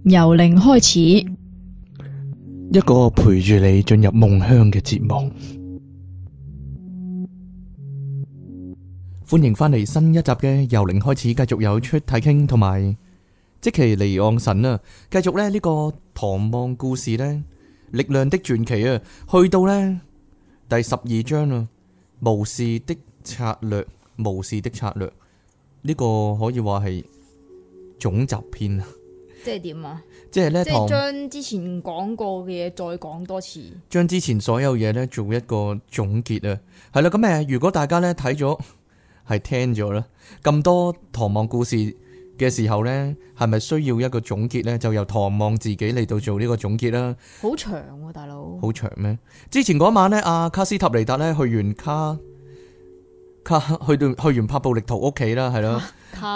由零開始， 一個陪住你進入夢鄉嘅節目。歡迎返嚟新一集嘅由零開始，繼續有出體傾同埋即其離岸神啊！繼續呢個唐望故事呢，力量的傳奇啊，去到呢第12章啊，巫士的策略，巫士的策略呢個可以話係總集篇啊！ 即係點啊？ 即係咧， 即係將之前講過嘅嘢再講多次， 將之前所有嘢咧做一個總結啊。係啦，咁如果大家咧睇咗係聽咗啦，咁多唐望故事嘅時候咧，係咪需要一個總結咧？就由唐望自己嚟到做呢個總結啦。 好長喎，大佬。 好長咩？之前嗰晚咧，阿卡斯塔尼達咧去完去完帕布力圖屋企啦，係咯，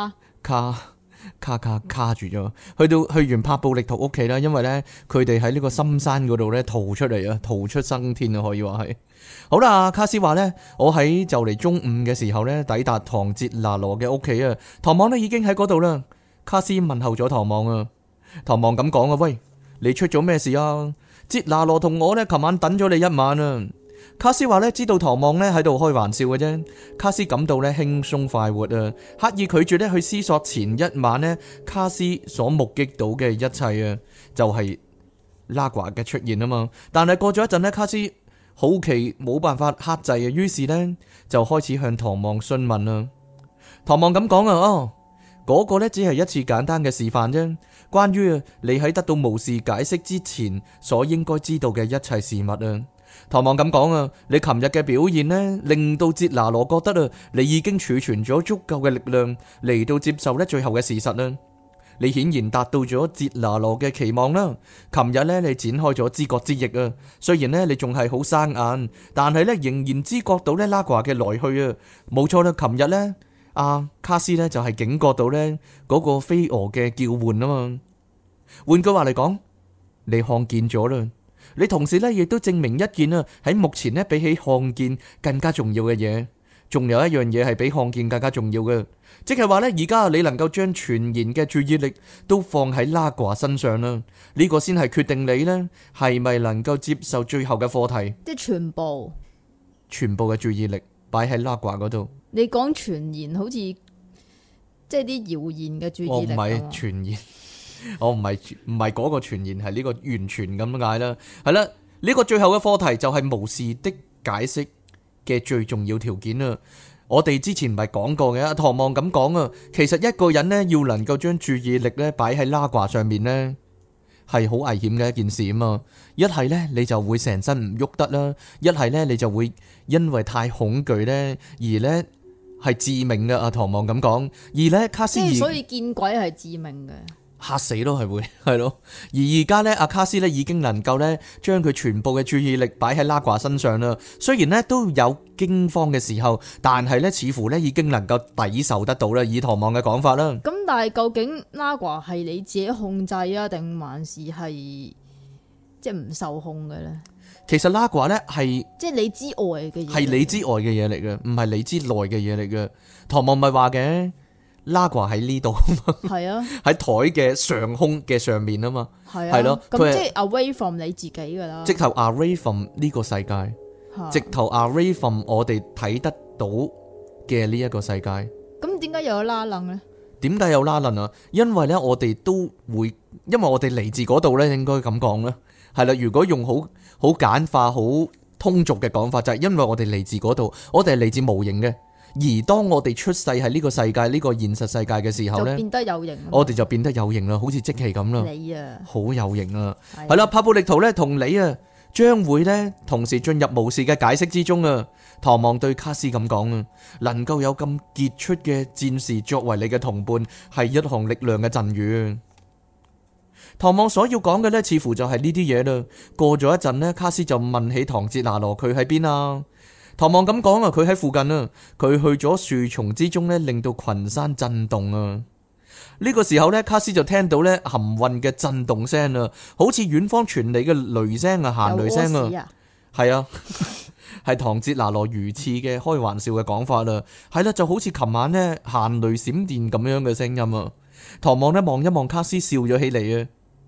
卡住咗，去完帕布力圖屋企啦，因為咧佢哋喺呢個深山嗰度咧逃出嚟啊，逃出生天啊，可以話係。好啦，卡斯話咧，我喺就嚟中午嘅時候咧抵達唐哲拿羅嘅屋企啊，唐望咧已經喺嗰度啦。卡斯問候咗唐望啊，唐望咁講啊，喂，你出咗咩事啊？哲拿羅同我咧琴晚等咗你一晚啊。卡斯話咧，知道唐望咧喺度開玩笑嘅啫。卡斯感到咧輕鬆快活啊，刻意拒絕咧去思索前一晚咧卡斯所目擊到嘅一切啊，就係拉瓜嘅出現啊嘛。但係過咗一陣咧，卡斯好奇冇辦法克制啊，於是咧就開始向唐望詢問啦。唐望咁講啊，嗰個咧只係一次簡單嘅示範啫，關於你喺得到巫士解釋之前所應該知道嘅一切事物啊。唐望咁講啊，你琴日嘅表現呢，令到哲拿羅覺得啊，你已經儲存咗足夠嘅力量嚟到接受呢最後嘅事實啦。你顯然達到咗哲拿羅嘅期望啦。琴日呢，你展開咗知覺之翼啊，雖然呢，你仲係好生硬，但係呢，仍然知覺到呢拉瓜嘅來去啊。冇錯啦，琴日呢，阿卡斯呢，就係警覺到呢嗰個飛蛾嘅叫喚啊嘛。換句話嚟講，你看見咗啦。你同時咧，亦都證明一件啊，喺目前咧比起看見更加重要嘅嘢，仲有一樣嘢係比看見更加重要嘅，即係話咧，而家你能夠將全然嘅注意力都放喺拉瓜身上啦，呢個先係決定你呢係咪能夠接受最後嘅課題， 即係全部嘅注意力擺喺拉瓜嗰度。 你講全然好似即係啲謠言嘅注意力， 我唔係全然。我唔係嗰個傳言，係呢個完全咁解啦。係啦，呢個最後嘅課題就係巫士的解釋嘅最重要條件啦。我哋之前唔係講過嘅，唐望咁講啊，其實一個人呢，要能夠將注意力呢擺喺拉掛上面呢，係好危險嘅一件事啊嘛。一係呢，你就會成身唔喐得啦，一係呢，你就會因為太恐懼呢，而呢係致命嘅。阿唐望咁講，而呢卡斯爾， 所以見鬼係致命嘅。 嚇死咯，係會係咯。而家呢，阿卡斯呢已經能夠呢將佢全部嘅注意力擺喺拉瓜身上啦。雖然呢都有驚慌嘅時候，但係呢似乎呢已經能夠抵受得到啦。以唐望嘅講法啦。 咁但係究竟拉瓜係你自己控制啊，定還是係即係唔受控嘅呢？ 其實拉瓜呢係即係你之外嘅嘢， 係你之外嘅嘢嚟嘅，唔係你之內嘅嘢嚟嘅。唐望咪話嘅。拉瓜喺呢度啊嘛，係啊，喺台嘅上空嘅上面啊嘛， 係啊，係咯，咁即係 away from 你自己噶啦， 直頭 away from 呢個世界，直頭 away from 我哋睇得到嘅呢一個世界。咁點解又有拉楞咧？點解有拉楞啊？因為咧，我哋都會，因為我哋嚟自嗰度咧，應該咁講啦，係啦。如果用好簡化、好通俗嘅講法，就係因為我哋嚟自嗰度，我哋係嚟自無形嘅。而當我哋出世喺呢個世界，呢個現實世界嘅時候呢，就變得有型，我哋就變得有型啦，好似即期咁啦，你啊，好有型啊，係啦，帕布力圖呢同你啊，將會呢同時進入巫士嘅解釋之中啊。唐望對卡斯咁講啊，能夠有咁傑出嘅戰士作為你嘅同伴，係一項力量嘅贈予。唐望所要講嘅呢，似乎就係呢啲嘢啦。過咗一陣呢，卡斯就問起唐哲拿羅，佢喺邊啊？唐望咁講啊，佢喺附近啊，佢去咗樹叢之中呢，令到群山震動啊。呢個時候呢，卡斯就聽到呢含混嘅震動聲啊，好似遠方傳嚟嘅雷聲啊，行雷聲啊，係啊，係唐哲拿羅如此嘅開玩笑嘅講法啦，係啦，就好似琴晚呢行雷閃電咁樣嘅聲音啊。唐望呢望一望卡斯，笑咗起嚟啊。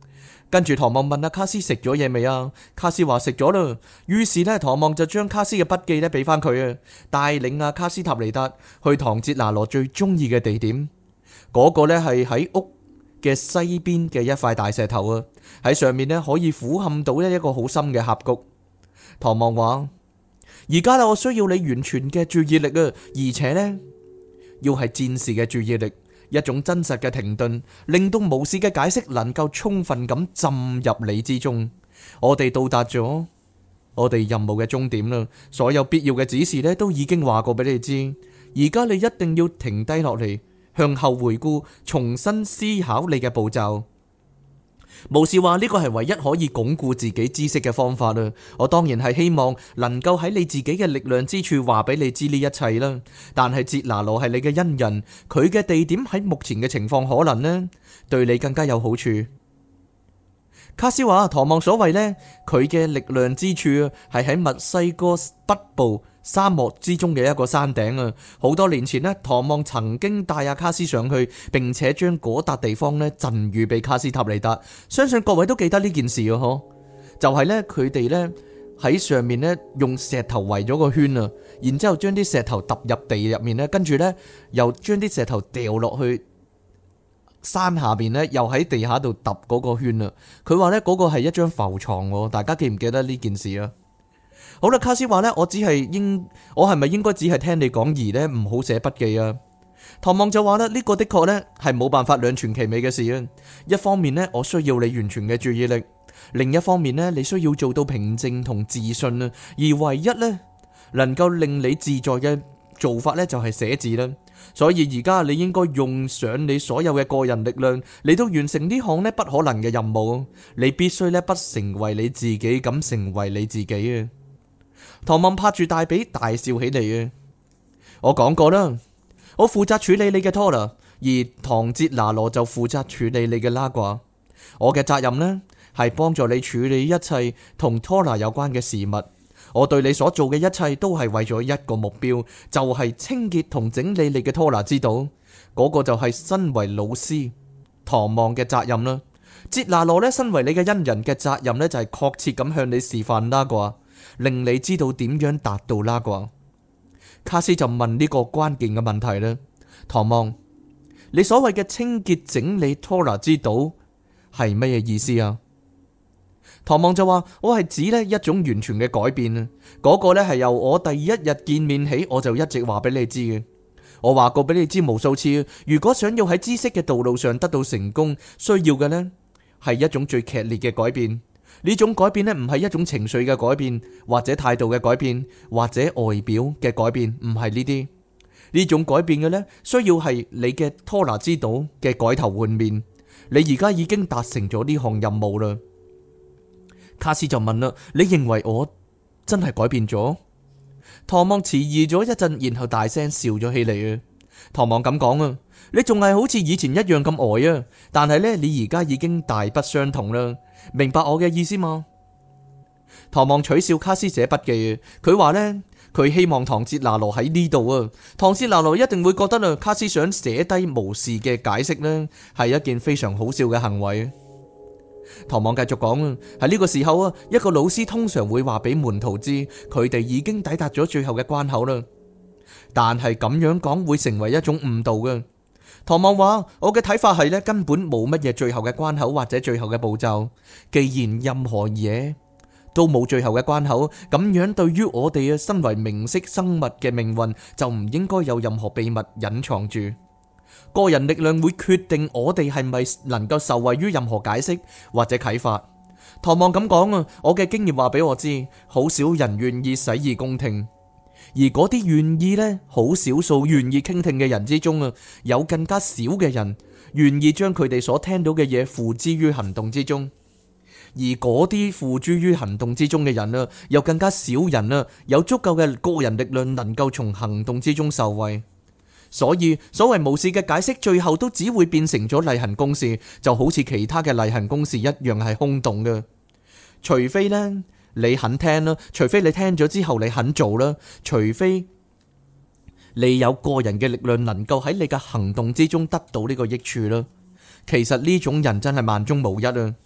跟住唐望問阿卡斯食咗嘢未啊？卡斯話食咗啦。於是呢，唐望就將卡斯嘅筆記呢俾翻佢啊，帶領阿卡斯塔尼達去唐哲拿羅最中意嘅地點。嗰個呢係喺屋嘅西邊嘅一塊大石頭啊，喺上面呢可以俯瞰到一個好深嘅峽谷。唐望話：而家我需要你完全嘅注意力啊，而且呢，要係戰士嘅注意力。一種真實嘅停頓，令到無視嘅解釋能夠充分咁浸入你之中。我哋到達咗我哋任務嘅終點啦，所有必要嘅指示呢都已經話過俾你知。而家你一定要停低落嚟，向後回顧，重新思考你嘅步驟。無視話呢個係唯一可以鞏固自己知識嘅方法啦。我當然係希望能夠喺你自己嘅力量之處話俾你知呢一切啦。但係哲拿羅係你嘅恩人，佢嘅地點喺目前嘅情況可能呢對你更加有好處。卡斯話唐望所謂呢，佢嘅力量之處係喺墨西哥北部沙漠之中嘅一個山頂啊。好多年前呢，唐望曾經帶阿卡斯上去，並且將嗰笪地方呢贈予俾卡斯塔尼達。相信各位都記得呢件事啊，嗬，就係呢，佢哋呢喺上面呢用石頭圍咗個圈啊，然之後將啲石頭揼入地入面呢，跟住呢又將啲石頭掉落去山下邊呢，又喺地下度揼嗰個圈啊。佢話呢，嗰個係一張浮床，大家記唔記得呢件事啊？好啦，卡斯話呢，我係咪應該只係聽你講而呢唔好寫筆記啊？唐望就話啦，呢個的確呢係冇辦法兩全其美嘅事啊。一方面呢，我需要你完全嘅注意力；另一方面呢，你需要做到平靜同自信啊。而唯一呢能夠令你自在嘅做法呢，就係寫字啦。所以而家你應該用上你所有嘅個人力量嚟到完成呢項呢不可能嘅任務。你必須呢不成為你自己，咁成為你自己啊！唐望拍住大髀大笑起嚟啊！我講過啦，我負責處理你嘅拖拉，而唐哲拿羅就負責處理你嘅拉掛。我嘅責任呢係幫助你處理一切同拖拉有關嘅事物。我對你所做嘅一切都係為咗一個目標，就係清潔同整理你嘅拖拿之道。嗰個就係身為老師唐望嘅責任啦。哲拿羅呢，身為你嘅恩人嘅責任呢，就係確切咁向你示範拉掛，令你知道點樣達到拉掛。卡斯就問呢個關鍵嘅問題啦，唐望，你所謂嘅清潔整理拖拿之道係乜嘢意思啊？唐望就話，我係指呢一種完全嘅改變啊，嗰個呢係由我第一日見面起我就一直話俾你知嘅。我話過俾你知無數次，如果想要喺知識嘅道路上得到成功，需要嘅呢係一種最劇烈嘅改變。呢種改變呢唔係一種情緒嘅改變，或者態度嘅改變，或者外表嘅改變，唔係呢啲。呢種改變嘅呢，需要係你嘅拖拿之道嘅改頭換面。你而家已經達成咗呢項任務啦。卡斯就問啦，你認為我真係改變咗？唐望遲疑咗一陣，然後大聲笑咗起嚟啊！唐望咁講啊，你仲係好似以前一樣咁呆啊，但係呢，你而家已經大不相同啦，明白我嘅意思嗎？唐望取笑卡斯寫筆記啊，佢話呢，佢希望唐哲拿羅喺呢度啊，唐哲拿羅一定會覺得啊，卡斯想寫低無視嘅解釋呢，係一件非常好笑嘅行為。唐望繼續講啊，喺呢個時候啊，一個老師通常會話俾門徒知，佢哋已經抵達咗最後嘅關口啦。但係咁樣講會成為一種誤導嘅。唐望話，我嘅睇法係呢，根本冇乜嘢最後嘅關口或者最後嘅步驟。既然任何嘢都冇最後嘅關口，咁樣對於我哋啊身為明識生物嘅命運，就唔應該有任何秘密隱藏住。個人力量會決定我哋係咪能夠受惠於任何解釋或者啟發。唐望咁講啊，我嘅經驗話俾我知，好少人願意洗耳恭聽，而嗰啲願意呢，好少數願意傾聽嘅人之中啊，有更加少嘅人願意將佢哋所聽到嘅嘢付之於行動之中，而嗰啲付諸於行動之中嘅人啊，有更加少人啊，有足夠嘅個人力量能夠從行動之中受惠。所以所謂無視嘅解釋，最後都只會變成咗例行公事，就好似其他嘅例行公事一樣係空洞嘅。除非呢，你肯聽啦，除非你聽咗之後你肯做啦，除非你有個人嘅力量能夠喺你嘅行動之中得到呢個益處啦。其實呢種人真係萬中無一啊！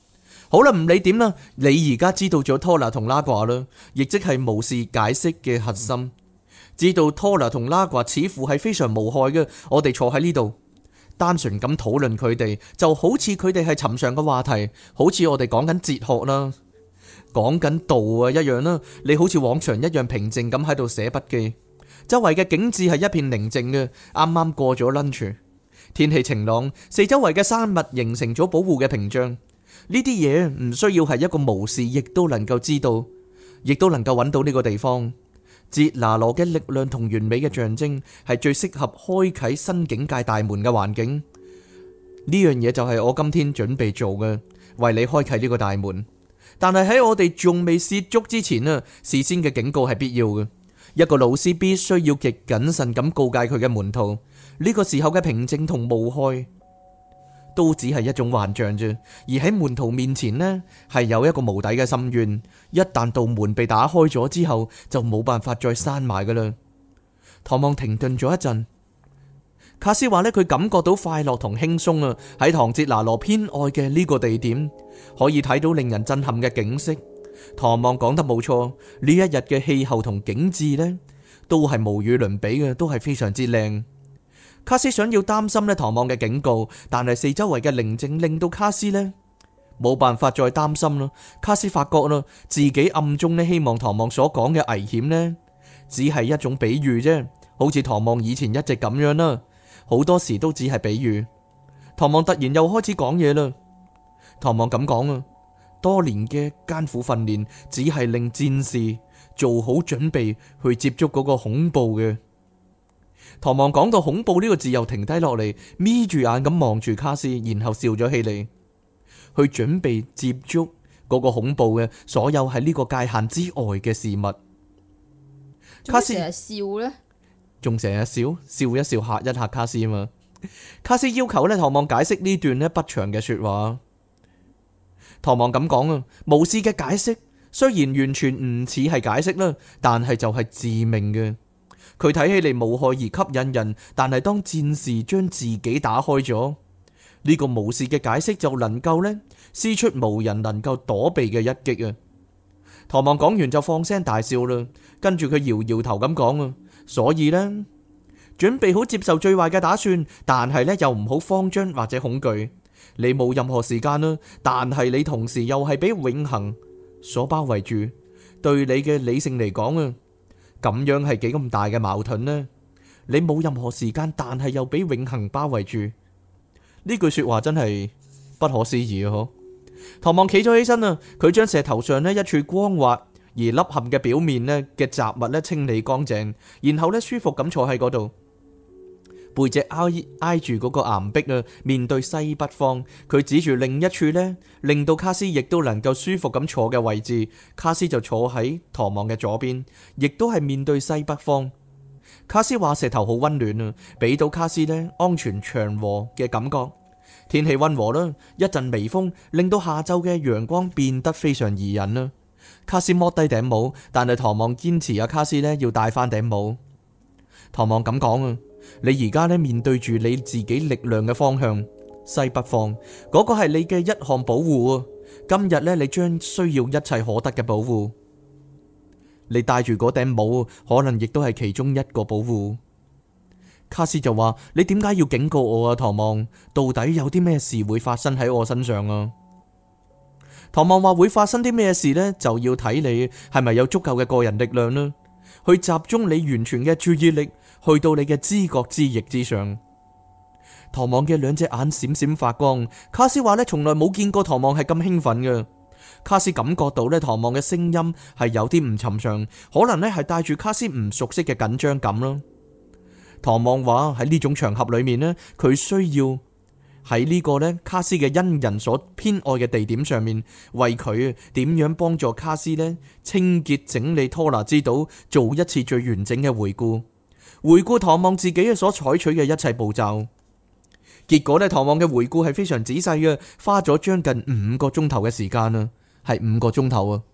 好啦，唔理點啦，你而家知道咗拖拿同拉掛啦，亦即係無視解釋嘅核心。知道拖拿同拉掛似乎係非常無害嘅，我哋坐喺呢度，單純咁討論佢哋，就好似佢哋係尋常嘅話題，好似我哋講緊哲學啦，講緊道啊一樣啦。你好似往常一樣平靜咁喺度寫筆記，周圍嘅景致係一片寧靜嘅。啱啱過咗 lunch， 天氣晴朗，四周圍嘅山脈形成咗保護嘅屏障。呢啲嘢唔需要係一個巫士亦都能夠知道，亦都能夠揾到呢個地方。捷拿羅嘅力量同完美嘅象徵係最適合開啟新境界大門嘅環境。呢樣嘢就係我今天準備做嘅，為你開啟呢個大門。但係喺我哋仲未涉足之前啊，事先嘅警告係必要嘅。一個老師必須要極謹慎咁告誡佢嘅門徒，呢個時候嘅平靜同無害都只係一種幻象啫。而喺門徒面前呢，係有一個無底嘅深淵。一旦道門被打開咗之後，就冇辦法再閂埋噶啦。唐望停頓咗一陣，卡斯話呢，佢感覺到快樂同輕鬆啊。喺唐哲拿羅偏愛嘅呢個地點，可以睇到令人震撼嘅景色。唐望講得冇錯，呢一日嘅氣候同景致呢，都係無與倫比嘅，都係非常之靚。卡斯想要擔心呢唐望嘅警告，但係四周圍嘅寧靜令到卡斯呢冇辦法再擔心啦。卡斯發覺啦，自己暗中呢希望唐望所講嘅危險呢，只係一種比喻啫，好似唐望以前一直咁樣啦，好多時都只係比喻。唐望突然又開始講嘢啦。唐望咁講啊，多年嘅艱苦訓練只係令戰士做好準備去接觸嗰個恐怖嘅。唐望講到恐怖呢個字，又停低落嚟，眯住眼咁望住卡斯，然後笑咗起嚟，去準備接觸嗰個恐怖嘅所有喺呢個界限之外嘅事物。卡斯成日笑呢， 仲成日笑一笑嚇一嚇卡斯啊嘛。卡斯要求呢唐望解釋呢段呢不長嘅說話。唐望咁講啊，巫士嘅解釋雖然完全唔似係解釋啦，但係就係致命嘅。佢睇起嚟無害而吸引人，但係當戰士將自己打開咗，呢個巫士嘅解釋就能夠呢施出無人能夠躲避嘅一擊啊！唐望講完就放聲大笑啦，跟住佢搖搖頭咁講啊，所以呢，準備好接受最壞嘅打算，但係呢又唔好慌張或者恐懼。你冇任何時間啦，但係你同時又係俾永恆所包圍住。對你嘅理性嚟講啊，咁樣係幾咁大嘅矛盾呢？你冇任何時間，但係又俾永恆包圍住。呢句說話真係不可思議啊！嗬，唐望企咗起身啊，佢將石頭上呢一處光滑而凹陷嘅表面呢嘅雜物呢清理乾淨，然後呢舒服咁坐喺嗰度。背脊挨住嗰個岩壁啊，面對西北方。佢指住另一處呢，令到卡斯亦都能夠舒服咁坐嘅位置。卡斯就坐喺唐望嘅左邊，亦都係面對西北方。卡斯話石頭好溫暖啊，俾到卡斯呢安全祥和嘅感覺。天氣溫和啦，一陣微風令到下晝嘅陽光變得非常宜人啦。卡斯剝低頂帽，但係唐望堅持卡斯呢要戴翻頂帽。唐望咁講啊，你而家呢面對住你自己力量嘅方向，西北方嗰個係你嘅一項保護啊。今日呢，你將需要一切可得嘅保護。你戴住嗰頂帽，可能亦都係其中一個保護。卡斯就話：你點解要警告我啊？唐望，到底有啲咩事會發生喺我身上啊？唐望話：會發生啲咩事呢？就要睇你係咪有足夠嘅個人力量啦，去集中你完全嘅注意力，去到你嘅知覺之翼之上。唐望嘅兩隻眼閃閃發光。卡斯話呢，從來冇見過唐望係咁興奮嘅。卡斯感覺到呢，唐望嘅聲音係有啲唔尋常，可能呢係帶住卡斯唔熟悉嘅緊張感啦。唐望話喺呢種場合裏面呢，佢需要喺呢個呢卡斯嘅恩人所偏愛嘅地點上面，為佢點樣幫助卡斯呢清潔整理拖拿之島，做一次最完整嘅回顧唐望自己所採取嘅一切步驟。結果呢，唐望嘅回顧係非常仔細嘅，花咗將近5個鐘頭嘅時間啊，係5個鐘頭啊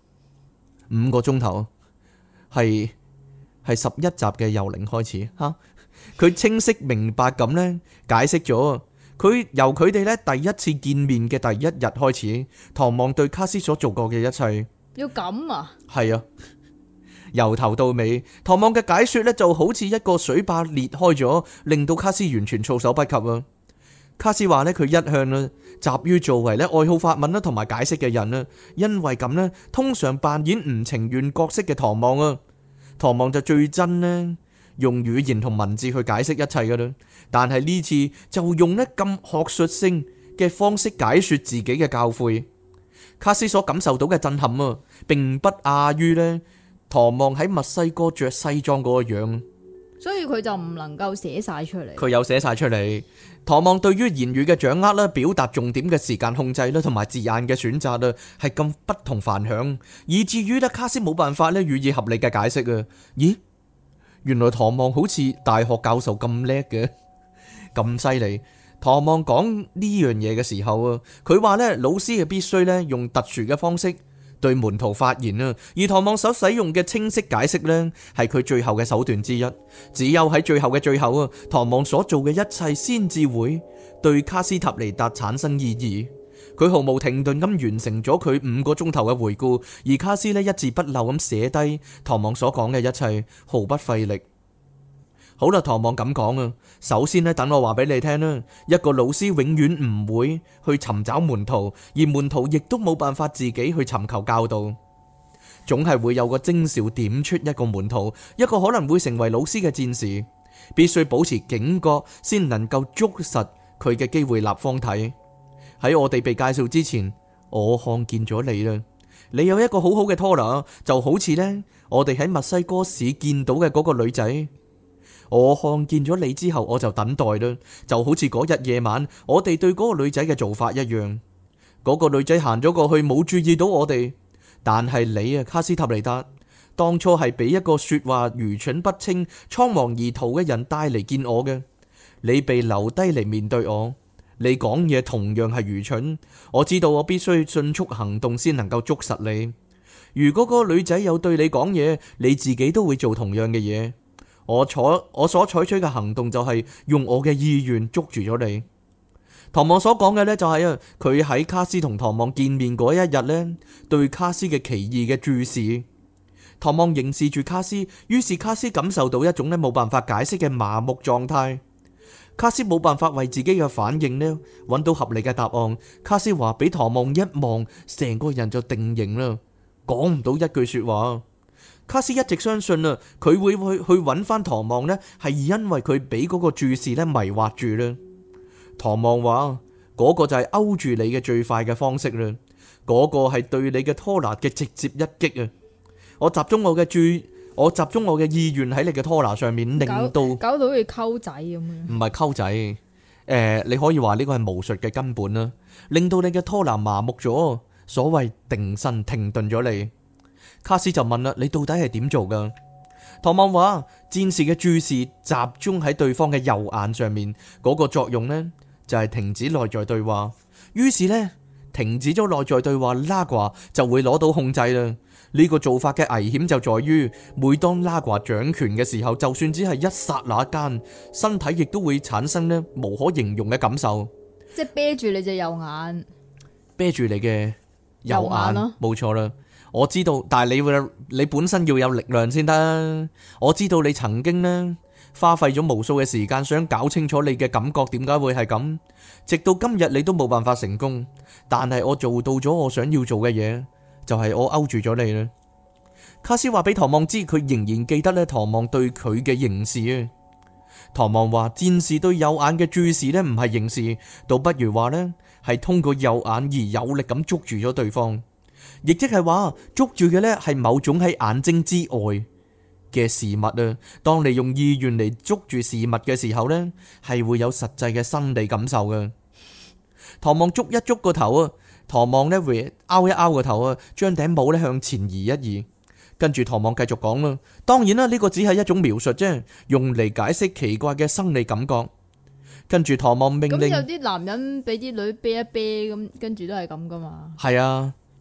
，5個鐘頭係11集嘅由零開始吓。佢清晰明白咁呢解釋咗由佢哋咧第一次見面嘅第一日開始，唐望對卡斯所做過嘅一切， 要咁啊？ 係啊，由頭到尾，唐望嘅解說咧就好似一個水壩裂開咗，令到卡斯完全措手不及啊！卡斯話咧佢一向咧習於作為咧愛好法文啦同埋解釋嘅人啦，因為咁咧通常扮演唔情願角色嘅唐望啊，唐望就最憎咧用語言同文字去解釋一切噶啦，但係呢次就用咧咁學術性嘅方式解說自己嘅教誨。卡斯所感受到嘅震撼啊，並不亞於咧唐望喺墨西哥着西裝嗰個樣， 所以佢就唔能夠寫晒出嚟。 佢有寫晒出嚟。唐望對於言語嘅掌握啦、表達重點嘅時間控制啦，同埋字眼嘅選擇啊，係咁不同凡響，以至於咧卡斯冇辦法咧予以合理嘅解釋啊。咦？原來唐望好似大學教授咁叻嘅，咁犀利。唐望講呢樣嘢嘅時候啊，佢話咧老師係必須咧用特殊嘅方式對門徒發言啊，而唐望所使用嘅清晰解釋呢，係佢最後嘅手段之一。只有喺最後嘅最後啊，唐望所做嘅一切先至會對卡斯塔尼達產生意義。佢毫無停頓咁完成咗佢5個鐘頭嘅回顧，而卡斯呢一字不漏咁寫低唐望所講嘅一切，毫不費力。好啦，唐望咁講啊，首先呢，等我話俾你聽啦，一個老師永遠唔會去尋找門徒，而門徒亦都冇辦法自己去尋求教導，總係會有個徵兆點出一個門徒，一個可能會成為老師嘅戰士，必須保持警覺，先能夠捉實佢嘅機會立方體。喺我哋被介紹之前，我看見咗你啦，你有一個好好嘅拖拿，就好似呢，我哋喺墨西哥市見到嘅嗰個女仔。我看見咗你之後，我就等待啦，就好似嗰日夜晚我哋對嗰個女仔嘅做法一樣。嗰個女仔行咗過去，冇注意到我哋，但係你啊，卡斯塔尼達，當初係俾一個說話愚蠢不清、倉皇而逃嘅人帶嚟見我嘅。你被留低嚟面對我，你講嘢同樣係愚蠢。我知道我必須迅速行動先能夠捉實你。如果嗰個女仔有對你講嘢，你自己都會做同樣嘅嘢。我所採取嘅行動就係用我嘅意願捉住咗你。唐望所講嘅呢，就係啊，佢喺卡斯同唐望見面嗰一日呢，對卡斯嘅奇異嘅注視。唐望凝視住卡斯，於是卡斯感受到一種呢冇辦法解釋嘅麻木狀態。卡斯冇辦法為自己嘅反應呢揾到合理嘅答案。卡斯話俾唐望一望，成個人就定型啦，講唔到一句說話。卡斯一直相信啊，佢會去揾翻唐望呢，係因為佢俾嗰個注視呢迷惑住啦。唐望話嗰個就係勾住你嘅最快嘅方式啦，嗰個係對你嘅拖拿嘅直接一擊啊！我集中我嘅意願喺你嘅拖拿上面，令到搞到好似溝仔咁樣。 唔係溝仔，你可以話呢個係巫術嘅根本啦，令到你嘅拖拿麻木咗，所謂定身停頓咗你。卡斯就問啦：你到底係點做噶？唐望話：戰士嘅注視集中喺對方嘅右眼上面，嗰個作用呢，就係停止內在對話。於是呢，停止咗內在對話，拉掛就會攞到控制啦。呢個做法嘅危險就在於，每當拉掛掌權嘅時候，就算只係一剎那間，身體亦都會產生呢無可形容嘅感受。 即係啤住你隻右眼， 啤住你嘅右眼，冇錯啦。我知道，但係你本身要有力量先得。我知道你曾經呢花費咗無數嘅時間，想搞清楚你嘅感覺點解會係咁，直到今日你都冇辦法成功。但係我做到咗我想要做嘅嘢，就係我勾住咗你啦。卡斯話俾唐望知，佢仍然記得咧唐望對佢嘅凝視啊。唐望話戰士對右眼嘅注視呢唔係凝視，倒不如話呢係通過右眼而有力咁捉住咗對方。亦即係話捉住嘅呢係某種喺眼睛之外嘅事物啊。當你用意願嚟捉住事物嘅時候呢，係會有實際嘅生理感受嘅。唐望捉一捉個頭啊，唐望呢會拗一拗個頭啊，將頂帽呢向前移一移。跟住唐望繼續講啦，當然啦，呢個只係一種描述啫，用嚟解釋奇怪嘅生理感覺。跟住唐望命令， 咁有啲男人俾啲女啤一啤咁，跟住都係咁噶嘛。 係啊。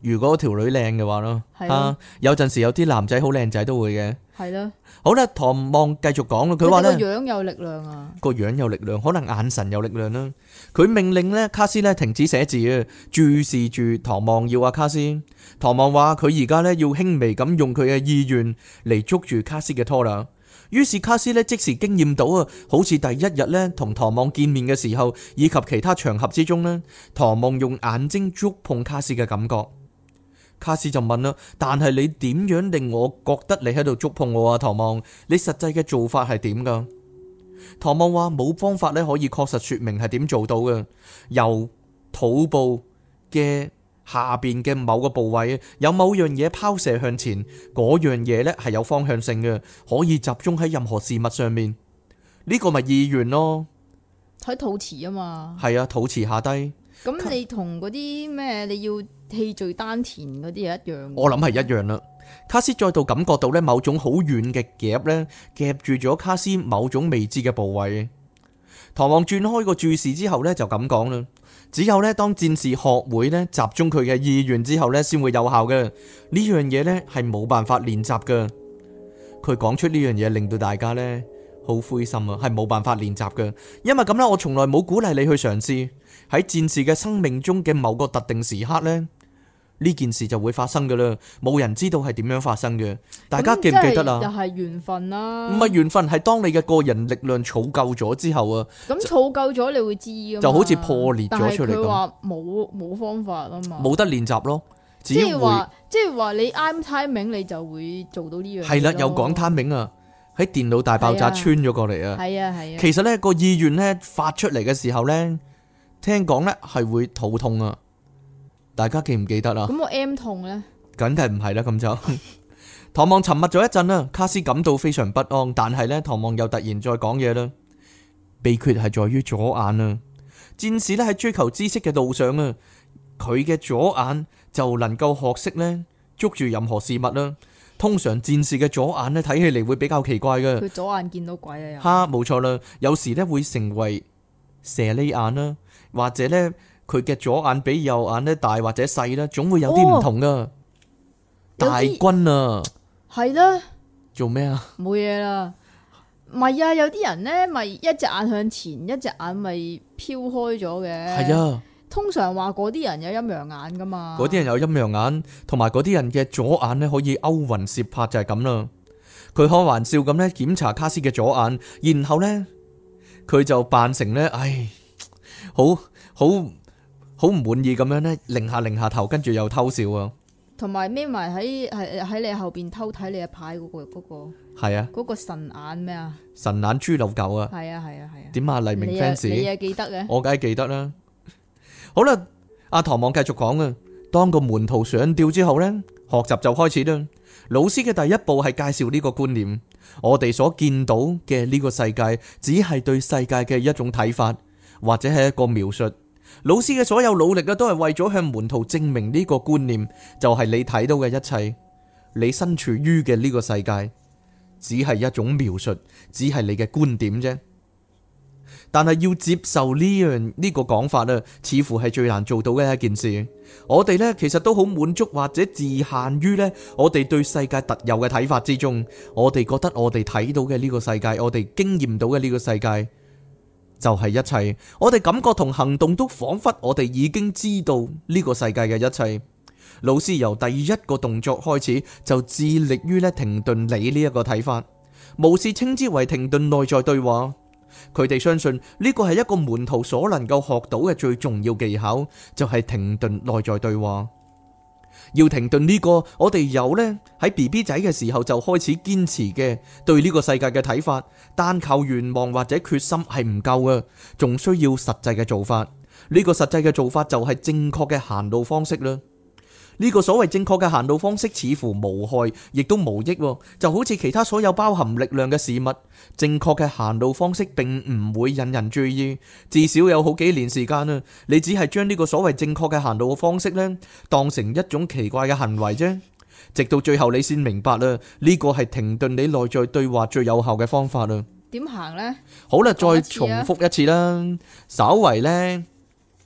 如果條女靚嘅話咯， 係咯有陣時有啲男仔好靚仔都會嘅。 係咯， 好啦，唐望繼續講啦，佢話佢哋個呢樣有力量啊， 個樣有力量，可能眼神有力量啦。佢命令呢卡斯呢停止寫字啊，注視住唐望要阿卡斯。唐望話佢而家呢要輕微咁用佢嘅意願嚟捉住卡斯嘅拖啦。於是卡斯呢即時經驗到啊，好似第一日呢同唐望見面嘅時候，以及其他場合之中呢，唐望用眼睛觸碰卡斯嘅感覺。卡斯就問啦，但係你點樣令我覺得你喺度觸碰我啊？唐望，你實際嘅做法係點噶？唐望話冇方法咧可以確實說明係點做到嘅。由肚部嘅下邊嘅某個部位有某樣嘢拋射向前，嗰樣嘢咧係有方向性嘅，可以集中喺任何事物上面。呢個咪意願咯， 睇肚臍啊嘛。 係啊，肚臍下低。 咁你同嗰啲咩你要氣聚丹田嗰啲係一樣。 我諗係一樣啦。卡斯再度感覺到咧某種好遠嘅夾咧夾住咗卡斯某種未知嘅部位。唐望轉開個注視之後咧就咁講啦，只有咧當戰士學會咧集中佢嘅意願之後咧先會有效嘅。呢樣嘢咧係冇辦法練習嘅。佢講出呢樣嘢令到大家咧好灰心啊，係冇辦法練習嘅。因為咁咧，我從來冇鼓勵你去嘗試。喺戰士嘅生命中嘅某個特定時刻呢，呢件事就會發生噶啦，冇人知道係點樣發生嘅。大家記唔記得啊？ 又係緣分啦。 唔係緣分，係當你嘅個人力量儲夠咗之後啊， 咁儲夠咗你會知噶嘛， 就好似破裂咗出嚟咁。 但係佢話冇方法啊嘛， 冇得練習咯。 即係話你啱 timing 你就會做到呢樣嘢。 係啦，有講 timing啊，喺電腦大爆炸穿咗過嚟啊。 係啊係啊。 其實呢個意願呢發出嚟嘅時候呢，聽講呢係會肚痛啊，大家記唔記得啊？ 咁我 M 痛呢？ 梗係唔係啦，咁就唐望沉默咗一陣啦，卡斯感到非常不安，但係呢，唐望又突然再講嘢啦。秘訣係在於左眼啊，戰士呢喺追求知識嘅路上啊，佢嘅左眼就能夠學識呢捉住任何事物啦。通常戰士嘅左眼呢睇起嚟會比較奇怪嘅， 佢左眼見到鬼啊又。 哈，冇錯啦，有時呢會成為蛇呢眼啦。或者呢，佢嘅左眼比右眼呢大或者細啦，總會有啲唔同噶。大軍啊， 係啦， 做咩啊？ 冇嘢啦，唔係啊，有啲人呢咪一隻眼向前，一隻眼咪飄開咗嘅。 係啊， 通常話嗰啲人有陰陽眼噶嘛。 嗰啲人有陰陽眼，同埋嗰啲人嘅左眼呢可以勾魂攝魄，就係咁啦。佢開玩笑咁呢檢查卡斯嘅左眼，然後呢，佢就扮成呢，唉。好唔滿意咁樣呢，擰下頭，跟住又偷笑啊！ 同埋孭埋喺你後邊偷睇你嘅牌嗰個係啊， 嗰個神眼咩啊？ 神眼豬柳狗啊！ 係啊！ 點啊？黎明 fans， 你記得嘅？ 我梗係記得啦。好啦，阿唐望繼續講啊。當個門徒上吊之後呢，學習就開始啦。老師嘅第一步係介紹呢個觀念，我哋所見到嘅呢個世界，只係對世界嘅一種睇法。或者係一個描述，老師嘅所有努力啊，都係為咗向門徒證明呢個觀念，就係你睇到嘅一切，你身處於嘅呢個世界，只係一種描述，只係你嘅觀點啫。但係要接受呢個講法啊，似乎係最難做到嘅一件事。我哋呢，其實都好滿足或者自限於呢我哋對世界特有嘅睇法之中，我哋覺得我哋睇到嘅呢個世界，我哋經驗到嘅呢個世界。就係一切，我哋感覺同行動都仿佛我哋已經知道呢個世界嘅一切。老師由第一個動作開始就致力於停頓你呢一個睇法，無視稱之為停頓內在對話。佢哋相信呢個係一個門徒所能夠學到嘅最重要技巧，就係停頓內在對話。要停頓呢個，我哋有呢喺 BB 仔嘅時候就開始堅持嘅對呢個世界嘅睇法，單靠願望或者決心係唔夠嘅，仲需要實際嘅做法。呢個實際嘅做法就係正確嘅行路方式啦。呢個所謂正確嘅行路方式似乎無害，亦都無益，就好似其他所有包含力量嘅事物。正確嘅行路方式並唔會引人注意，至少有好幾年時間啦，你只係將呢個所謂正確嘅行路嘅方式呢，當成一種奇怪嘅行為啫。直到最後你先明白啦，呢個係停頓你內在對話最有效嘅方法啦。 點行呢？ 好啦，再重複一次啦，稍為呢。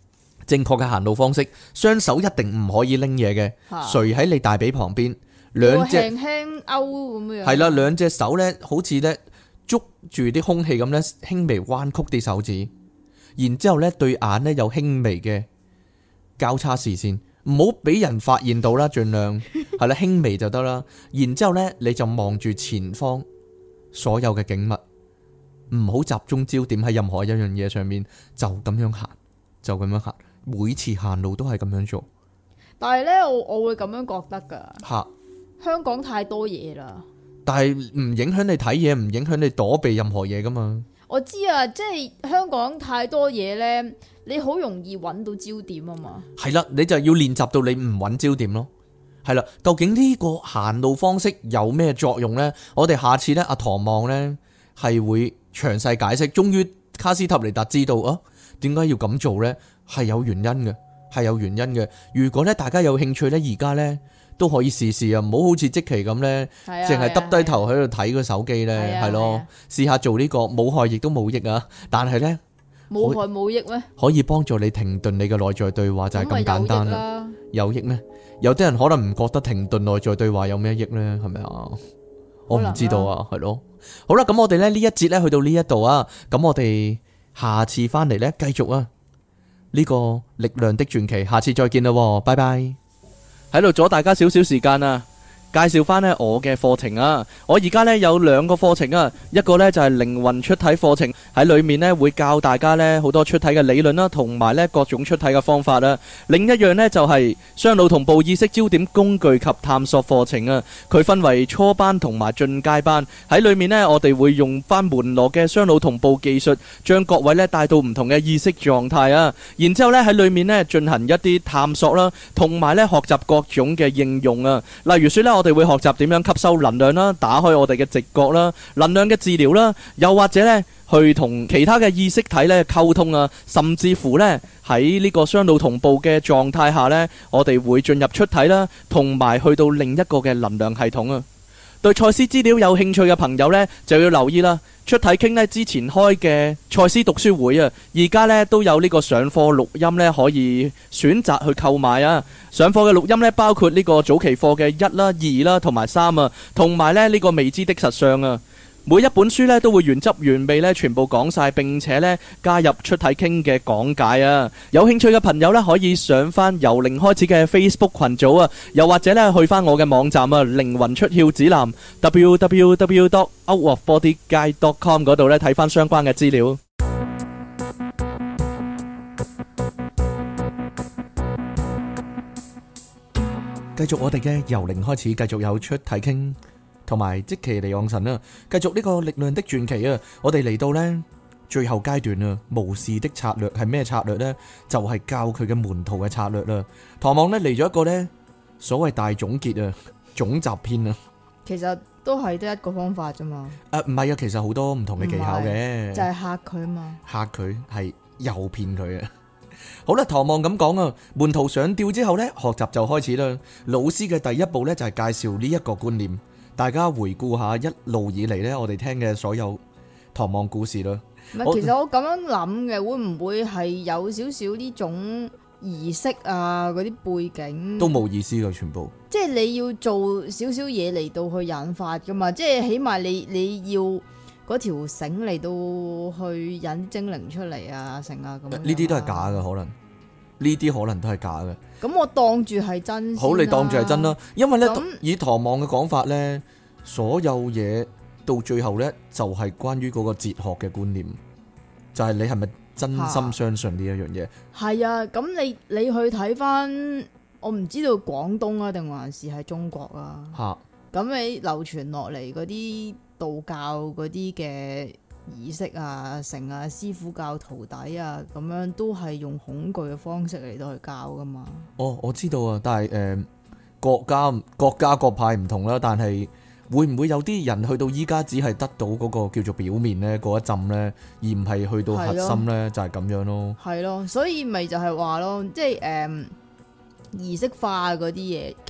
正確嘅行路方式，雙手一定唔可以拎嘢嘅， 嚇垂喺你大髀旁邊，兩隻輕輕勾咁樣。 係啦，兩隻手咧好似咧捉住啲空氣咁咧，輕微彎曲啲手指，然之後咧對眼咧有輕微嘅交叉視線，唔好俾人發現到啦，盡量係啦，輕微就得啦。然之後咧你就望住前方所有嘅景物，唔好集中焦點喺任何一樣嘢上面，就咁樣行，就咁樣行。每次行路都係咁樣做。 但係咧，我會咁樣覺得噶。 嚇！ 香港太多嘢啦。 但係唔影響你睇嘢，唔影響你躲避任何嘢噶嘛。 我知啊，即係香港太多嘢咧，你好容易揾到焦點啊嘛。 係啦，你就要練習到你唔揾焦點咯。係啦，究竟呢個行路方式有咩作用呢？我哋下次呢，阿唐望呢係會詳細解釋。終於卡斯塔尼達知道啊，點解要咁做呢？係有原因嘅，係有原因嘅。如果咧大家有興趣呢，而家呢都可以試試啊，唔好好似即期咁呢，淨係耷低頭喺度睇個手機呢。係咯，試下做呢個冇害亦都冇益啊。但係呢， 冇害冇益咩？ 可以幫助你停頓你嘅內在對話，就係咁簡單啦。有益咩？有啲人可能唔覺得停頓內在對話有咩益呢？係咪啊？我唔知道啊，係咯。好啦，咁我哋咧呢一節咧去到呢一度啊，咁我哋下次翻嚟咧繼續啊呢個力量的傳奇，下次再見啦，拜拜。喺度阻大家少少時間啊！介紹翻呢我嘅課程啊！我而家呢有兩個課程啊，一個呢就係靈魂出體課程，喺裏面呢會教大家呢好多出體嘅理論啦，同埋呢各種出體嘅方法啦。另一樣呢就係雙腦同步意識焦點工具及探索課程啊。佢分為初班同埋進階班，喺裏面呢我哋會用翻門羅嘅雙腦同步技術，將各位呢帶到唔同嘅意識狀態啊。然之後呢喺裏面呢進行一啲探索啦，同埋呢學習各種嘅應用啊。例如說呢，我哋會學習點樣吸收能量啦，打開我哋嘅直覺啦，能量嘅治療啦，又或者呢去同其他嘅意識體呢溝通啊，甚至乎呢喺呢個雙腦同步嘅狀態下呢，我哋會進入出體啦，同埋去到另一個嘅能量系統啊。對賽斯資料有興趣嘅朋友呢，就要留意啦。出體傾呢之前開嘅賽斯讀書會啊，而家呢都有呢個上課錄音呢，可以選擇去購買啊。上課嘅錄音呢，包括呢個早期課嘅1啦、2啦同埋3啊，同埋呢個未知的實相啊。每一本書呢都會原汁原味呢全部講晒，並且呢加入出體傾嘅講解啊！有興趣嘅朋友呢，可以上翻由零開始嘅 Facebook 群組啊，又或者呢去翻我嘅網站啊，靈魂出竅指南 www.outofbodyguide.com 嗰度呢睇翻相關嘅資料。繼續我哋嘅由零開始，繼續有出體傾。同埋即其離岸神啦，繼續呢個力量的傳奇啊！我哋嚟到呢最後階段啊，巫士的策略係咩策略呢？就係教佢嘅門徒嘅策略啦。唐望呢嚟咗一個呢所謂大總結啊，總集篇啊。 其實都係得一個方法啫嘛。 唔係啊，其實好多唔同嘅技巧嘅， 就係嚇佢啊嘛。 嚇佢係誘騙佢啊。好啦，唐望咁講啊，門徒上吊之後呢，學習就開始啦。老師嘅第一步呢，就係介紹呢一個觀念。大家回顧下一路以嚟呢，我哋聽嘅所有唐望故事啦。 唔係，其實我咁樣諗嘅，會唔會係有少少呢種儀式啊？嗰啲背景都冇意思噶，全部。 即係你要做少少嘢嚟到去引發噶嘛？即係起碼你要嗰條繩嚟到去引精靈出嚟啊，成啊咁。呢啲都係假嘅，可能呢啲可能都係假嘅。 咁我當住係真。 好，你當住係真啦，因為呢， 那以唐望嘅講法呢，所有嘢到最後呢，就係關於嗰個哲學嘅觀念，就係你係咪真心相信呢一樣嘢？ 係啊，咁你去睇翻，我唔知道廣東啊定還是係中國啊？ 嚇！ 咁你流傳落嚟嗰啲道教嗰啲嘅儀式啊、成啊、師傅教徒弟啊，咁樣都係用恐懼嘅方式嚟到去教噶嘛？ 哦，我知道啊，但係各家各派唔同啦，但係會唔會有啲人去到依家只係得到嗰個叫做表面呢嗰一浸呢，而唔係去到核心呢？就係咁樣咯。係咯，所以咪就係話咯，即係儀式化嗰啲嘢，其實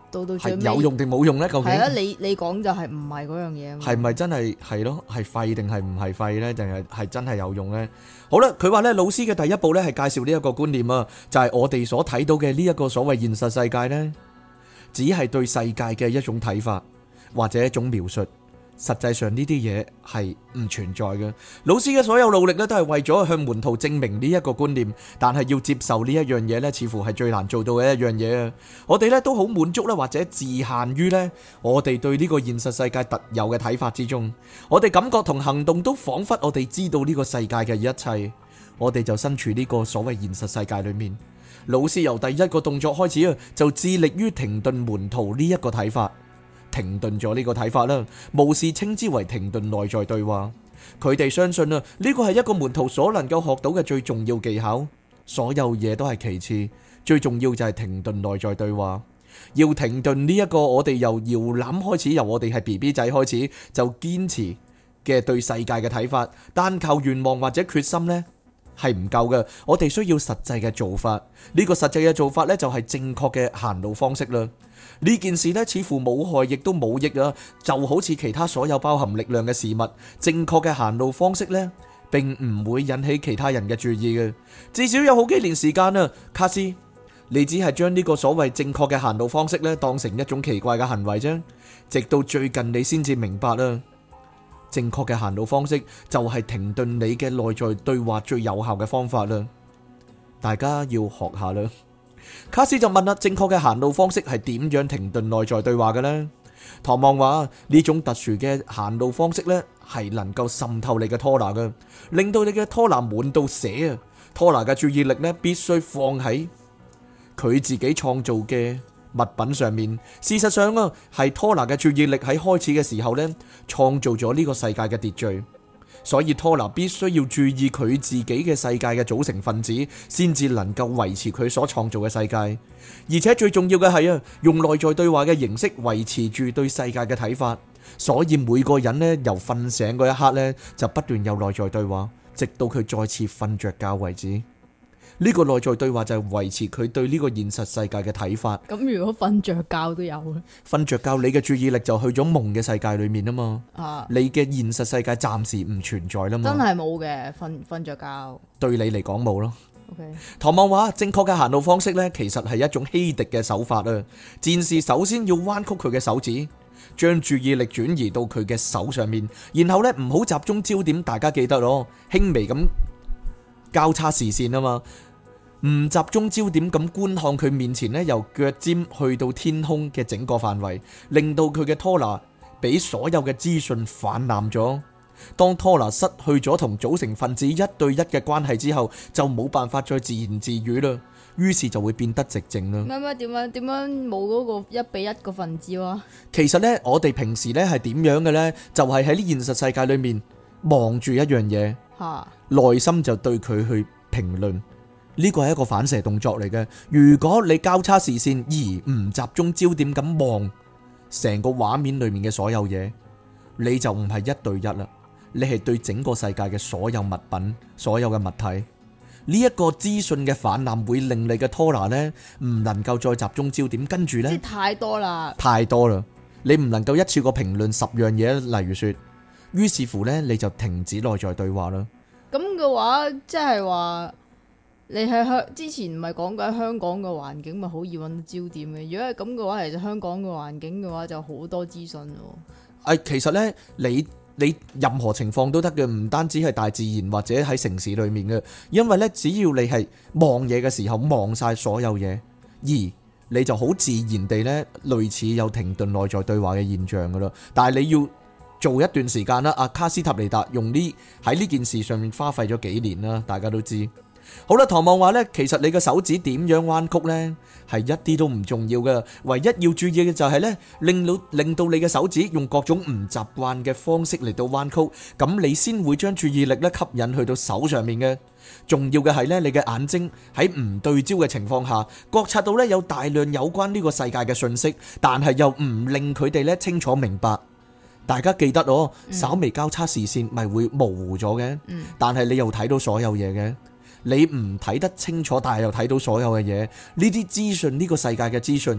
到最尾有用定冇用呢？究竟係啊，你講就係唔係嗰樣嘢啊嘛？ 係咪真係係咯？係廢定係唔係廢呢？定係真係有用呢？好啦，佢話呢，老師嘅第一步呢係介紹呢一個觀念啊，就係我哋所睇到嘅呢一個所謂現實世界呢，只係對世界嘅一種睇法或者一種描述。實際上呢啲嘢係唔存在嘅。老師嘅所有努力咧，都係為咗向門徒證明呢一個觀念，但係要接受呢一樣嘢咧，似乎係最難做到嘅一樣嘢啊！我哋咧都好滿足咧，或者自限於咧，我哋對呢個現實世界特有嘅睇法之中。我哋感覺同行動都彷彿我哋知道呢個世界嘅一切，我哋就身處呢個所謂現實世界裏面。老師由第一個動作開始啊，就致力於停頓門徒呢一個睇法。停頓咗呢個睇法啦，無視稱之為停頓內在對話。佢哋相信啊，呢個係一個門徒所能夠學到嘅最重要技巧。所有嘢都係其次，最重要就係停頓內在對話。要停頓呢一個我哋由搖籃開始，由我哋係 BB 仔開始就堅持嘅對世界嘅睇法，單靠願望或者決心呢係唔夠嘅。我哋需要實際嘅做法。呢個實際嘅做法呢，就係正確嘅行路方式啦。呢件事呢，似乎冇害亦都冇益啊，就好似其他所有包含力量嘅事物。正確嘅行路方式呢，並唔會引起其他人嘅注意嘅。至少有好幾年時間啊，卡斯，你只係將呢個所謂正確嘅行路方式呢，當成一種奇怪嘅行為啫。直到最近你先至明白啦，正確嘅行路方式就係停頓你嘅內在對話最有效嘅方法啦。大家要學下啦。卡斯就問啦，正確嘅行路方式係點樣停頓內在對話嘅呢？唐望話呢種特殊嘅行路方式呢，係能夠滲透你嘅拖拿嘅，令到你嘅拖拿滿到瀉啊！拖拿嘅注意力呢，必須放喺佢自己創造嘅物品上面。事實上啊，係拖拿嘅注意力喺開始嘅時候呢，創造咗呢個世界嘅秩序。所以拖拿必須要注意佢自己嘅世界嘅組成分子，先至能夠維持佢所創造嘅世界。而且最重要嘅係啊，用內在對話嘅形式維持住對世界嘅睇法。所以每個人呢，由瞓醒嗰一刻呢，就不斷有內在對話，直到佢再次瞓着覺為止。呢個內在對話就係維持佢對呢個現實世界嘅睇法。 咁如果瞓着覺都有咧？ 瞓着覺，你嘅注意力就去咗夢嘅世界裏面啊嘛。你嘅現實世界暫時唔存在啦嘛。 真係冇嘅，瞓着覺。 對你嚟講冇咯。 OK。 唐望話，正確嘅行路方式呢，其實係一種欺敵嘅手法啊。戰士首先要彎曲佢嘅手指，將注意力轉移到佢嘅手上面，然後呢，唔好集中焦點，大家記得咯，輕微咁交叉視線啊嘛。唔集中焦點咁觀看佢面前呢，由腳尖去到天空嘅整個範圍，令到佢嘅拖拿俾所有嘅資訊泛濫咗。當拖拿失去咗同組成分子一對一嘅關係之後，就冇辦法再自言自語啦，於是就會變得寂靜啦。 點樣冇嗰個一比一個分子啊？ 其實呢，我哋平時呢係點樣嘅呢？就係喺呢現實世界裏面望住一樣嘢，內心就對佢去評論。呢個係一個反射動作嚟嘅。如果你交叉視線而唔集中焦點咁望成個畫面裏面嘅所有嘢，你就唔係一對一啦，你係對整個世界嘅所有物品、所有嘅物體。呢一個資訊嘅氾濫會令你嘅拖拿呢唔能夠再集中焦點，跟住呢， 即係太多啦， 太多啦，你唔能夠一次過評論10樣嘢，例如說，於是乎呢，你就停止內在對話啦。 咁嘅話，即係話。你喺之前唔係講緊香港嘅環境咪好易揾到焦點嘅？如果係咁嘅話，其實香港嘅環境嘅話就好多資訊咯。 其實呢，你任何情況都得嘅，唔單止係大自然或者喺城市裏面嘅，因為呢，只要你係望嘢嘅時候望晒所有嘢，而你就好自然地呢，類似有停頓內在對話嘅現象噶啦。但係你要做一段時間啦。阿卡斯塔尼達用喺呢件事上面花費咗幾年啦，大家都知。好啦，唐望話呢，其實你嘅手指點樣彎曲呢，係一啲都唔重要嘅，唯一要注意嘅就係呢，令到你嘅手指用各種唔習慣嘅方式嚟到彎曲，咁你先會將注意力呢吸引去到手上面嘅。重要嘅係呢，你嘅眼睛喺唔對焦嘅情況下，覺察到呢有大量有關呢個世界嘅信息，但係又唔令佢哋呢清楚明白。大家記得哦，稍微交叉視線咪會模糊咗嘅，但係你又睇到所有嘢嘅。你唔睇得清楚，但係又睇到所有嘅嘢，呢啲資訊，呢個世界嘅資訊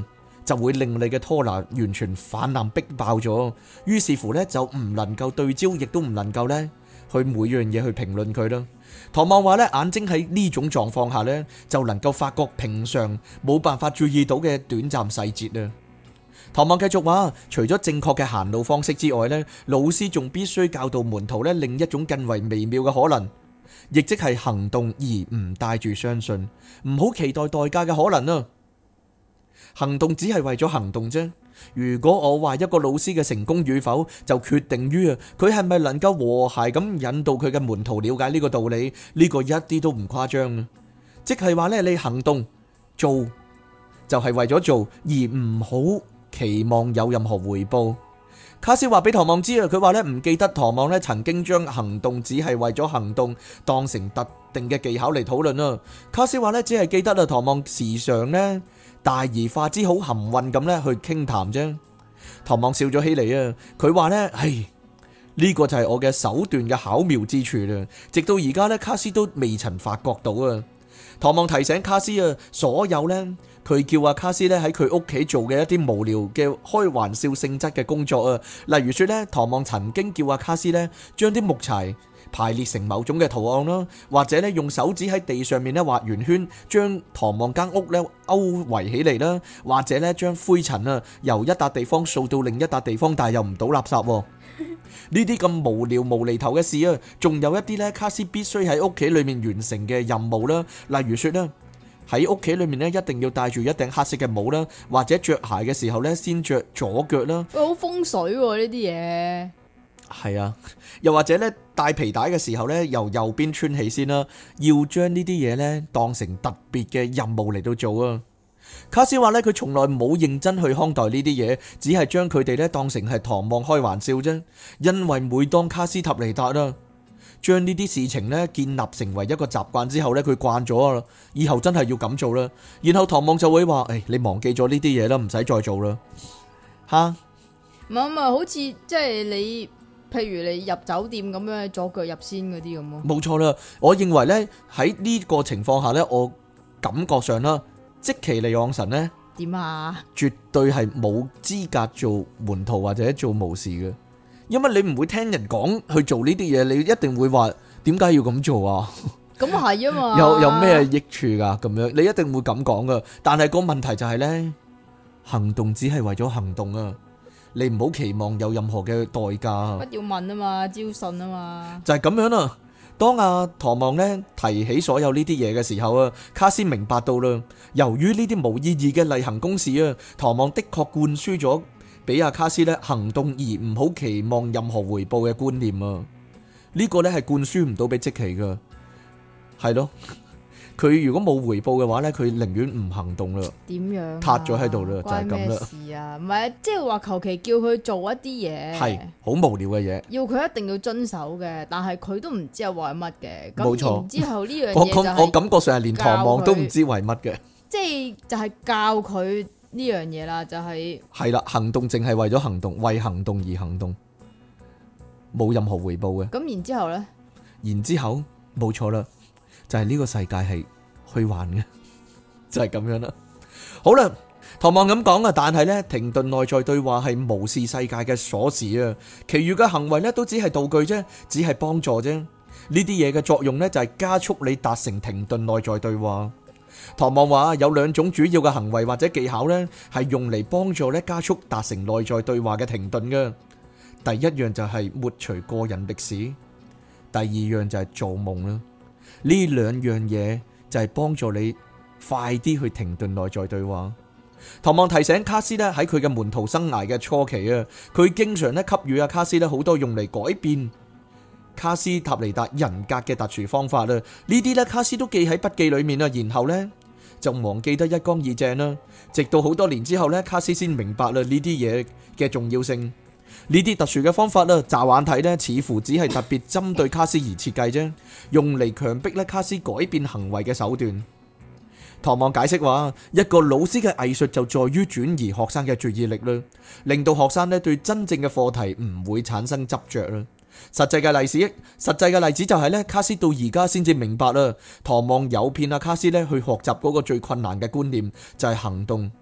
就會令你嘅拖拿完全泛濫逼爆咗，於是乎呢，就唔能夠對焦，亦都唔能夠呢去每樣嘢去評論佢啦。唐望話呢，眼睛喺呢種狀況下呢，就能夠發覺平常冇辦法注意到嘅短暫細節啊。唐望繼續話，除咗正確嘅行路方式之外呢，老師仲必須教導門徒呢另一種更為微妙嘅可能，亦即係行動而唔帶住相信，唔好期待代價嘅可能啊。行動只係為咗行動啫。如果我話一個老師嘅成功與否，就決定於佢係咪能夠和諧咁引導佢嘅門徒了解呢個道理，呢個一啲都唔誇張啊。即係話呢，你行動做就係為咗做，而唔好期望有任何回報。卡斯話俾唐望知啊，佢話呢唔記得唐望呢曾經將行動只係為咗行動當成特定嘅技巧嚟討論啦。卡斯話呢只係記得啊，唐望時常呢大而化之好含混咁呢去傾談啫。唐望笑咗起嚟啊，佢話呢，呢個就係我嘅手段嘅巧妙之處啦。直到而家呢，卡斯都未曾發覺到啊。唐望提醒卡斯啊，所有呢，佢叫阿卡斯呢喺佢屋企做嘅一啲無聊嘅開玩笑性質嘅工作啊，例如說呢，唐望曾經叫阿卡斯呢將啲木柴排列成某種嘅圖案啦，或者呢用手指喺地上面呢畫圓圈，將唐望間屋呢勾圍起嚟啦，或者呢將灰塵啊由一笪地方掃到另一笪地方，但係又唔倒垃圾。呢啲咁無聊無厘頭嘅事啊，仲有一啲呢卡斯必須喺屋企裏面完成嘅任務啦，例如說呢喺屋企裏面呢一定要戴住一頂黑色嘅帽啦，或者着鞋嘅時候呢先着左腳啦。 好風水喎呢啲嘢。 係啊，又或者咧帶皮帶嘅時候咧，由右邊穿起先啦，要將呢啲嘢咧當成特別嘅任務嚟到做啊。卡斯話咧，佢從來冇認真去看待呢啲嘢，只係將佢哋咧當成係唐望開玩笑啫。因為每當卡斯塔尼達啦，將呢啲事情咧建立成為一個習慣之後咧，佢慣咗啦，以後真係要咁做啦。然後唐望就會話：你忘記咗呢啲嘢啦，唔使再做啦。吓， 唔係好似即係你。譬如你入酒店咁樣左腳入先嗰啲咁咯， 冇錯啦。我認為呢，喺呢個情況下呢，我感覺上啦，即其利昂神呢點啊？ 絕對係冇資格做門徒或者做巫士嘅，因為你唔會聽人講去做呢啲嘢，你一定會話點解要咁做啊？ 咁係啊嘛， 有咩益處㗎？咁樣你一定會咁講噶。但係個問題就係呢，行動只係為咗行動啊！你唔好期望有任何嘅代價。 不要問啊嘛，招信啊嘛， 就係咁樣啦。當阿唐望呢提起所有呢啲嘢嘅時候啊，卡斯明白到啦。由於呢啲無意義嘅例行公事啊，唐望的確灌輸咗俾阿卡斯呢行動而唔好期望任何回報嘅觀念啊。呢個呢係灌輸唔到俾即奇噶，係咯。佢如果冇回報嘅話呢，佢寧願唔行動啦。 點樣？ 塌咗喺度啦，就係咁啦。 關咩事啊？唔係，即係話求其叫佢做一啲嘢， 係好無聊嘅嘢， 要佢一定要遵守嘅，但係佢都唔知係為乜嘅。 冇錯。 然之後呢樣嘢就係我感覺上係連唐望都唔知為乜嘅。 即係就係教佢呢樣嘢啦，就係係啦，行動淨係為咗行動，為行動而行動，冇任何回報嘅。 咁然之後咧， 然之後冇錯啦。就係呢個世界係虛幻嘅，就係咁樣啦。好啦，唐望咁講啊，但係呢，停頓內在對話係無視世界嘅鎖匙啊，其餘嘅行為呢，都只係道具啫，只係幫助啫。呢啲嘢嘅作用呢，就係加速你達成停頓內在對話。唐望話有兩種主要嘅行為或者技巧呢，係用嚟幫助呢加速達成內在對話嘅停頓嘅。第一樣就係抹除個人歷史，第二樣就係做夢啦。呢兩樣嘢就係幫助你快啲去停頓內在對話。唐望提醒卡斯咧，喺佢嘅門徒生涯嘅初期啊，佢經常咧給予阿卡斯咧好多用嚟改變卡斯塔尼達人格嘅特殊方法啦。呢啲咧卡斯都記喺筆記裏面啦，然後呢就忘記得一乾二淨啦。直到好多年之後呢，卡斯先明白啦呢啲嘢嘅重要性。呢啲特殊嘅方法啦，乍眼睇呢似乎只係特別針對卡斯而設計啫，用嚟強迫咧卡斯改變行為嘅手段。唐望解釋話，一個老師嘅藝術就在於轉移學生嘅注意力啦，令到學生咧對真正嘅課題唔會產生執着啦。實際嘅例子就係咧，卡斯到而家先至明白啦，唐望誘騙阿卡斯咧去學習嗰個最困難嘅觀念就係行動，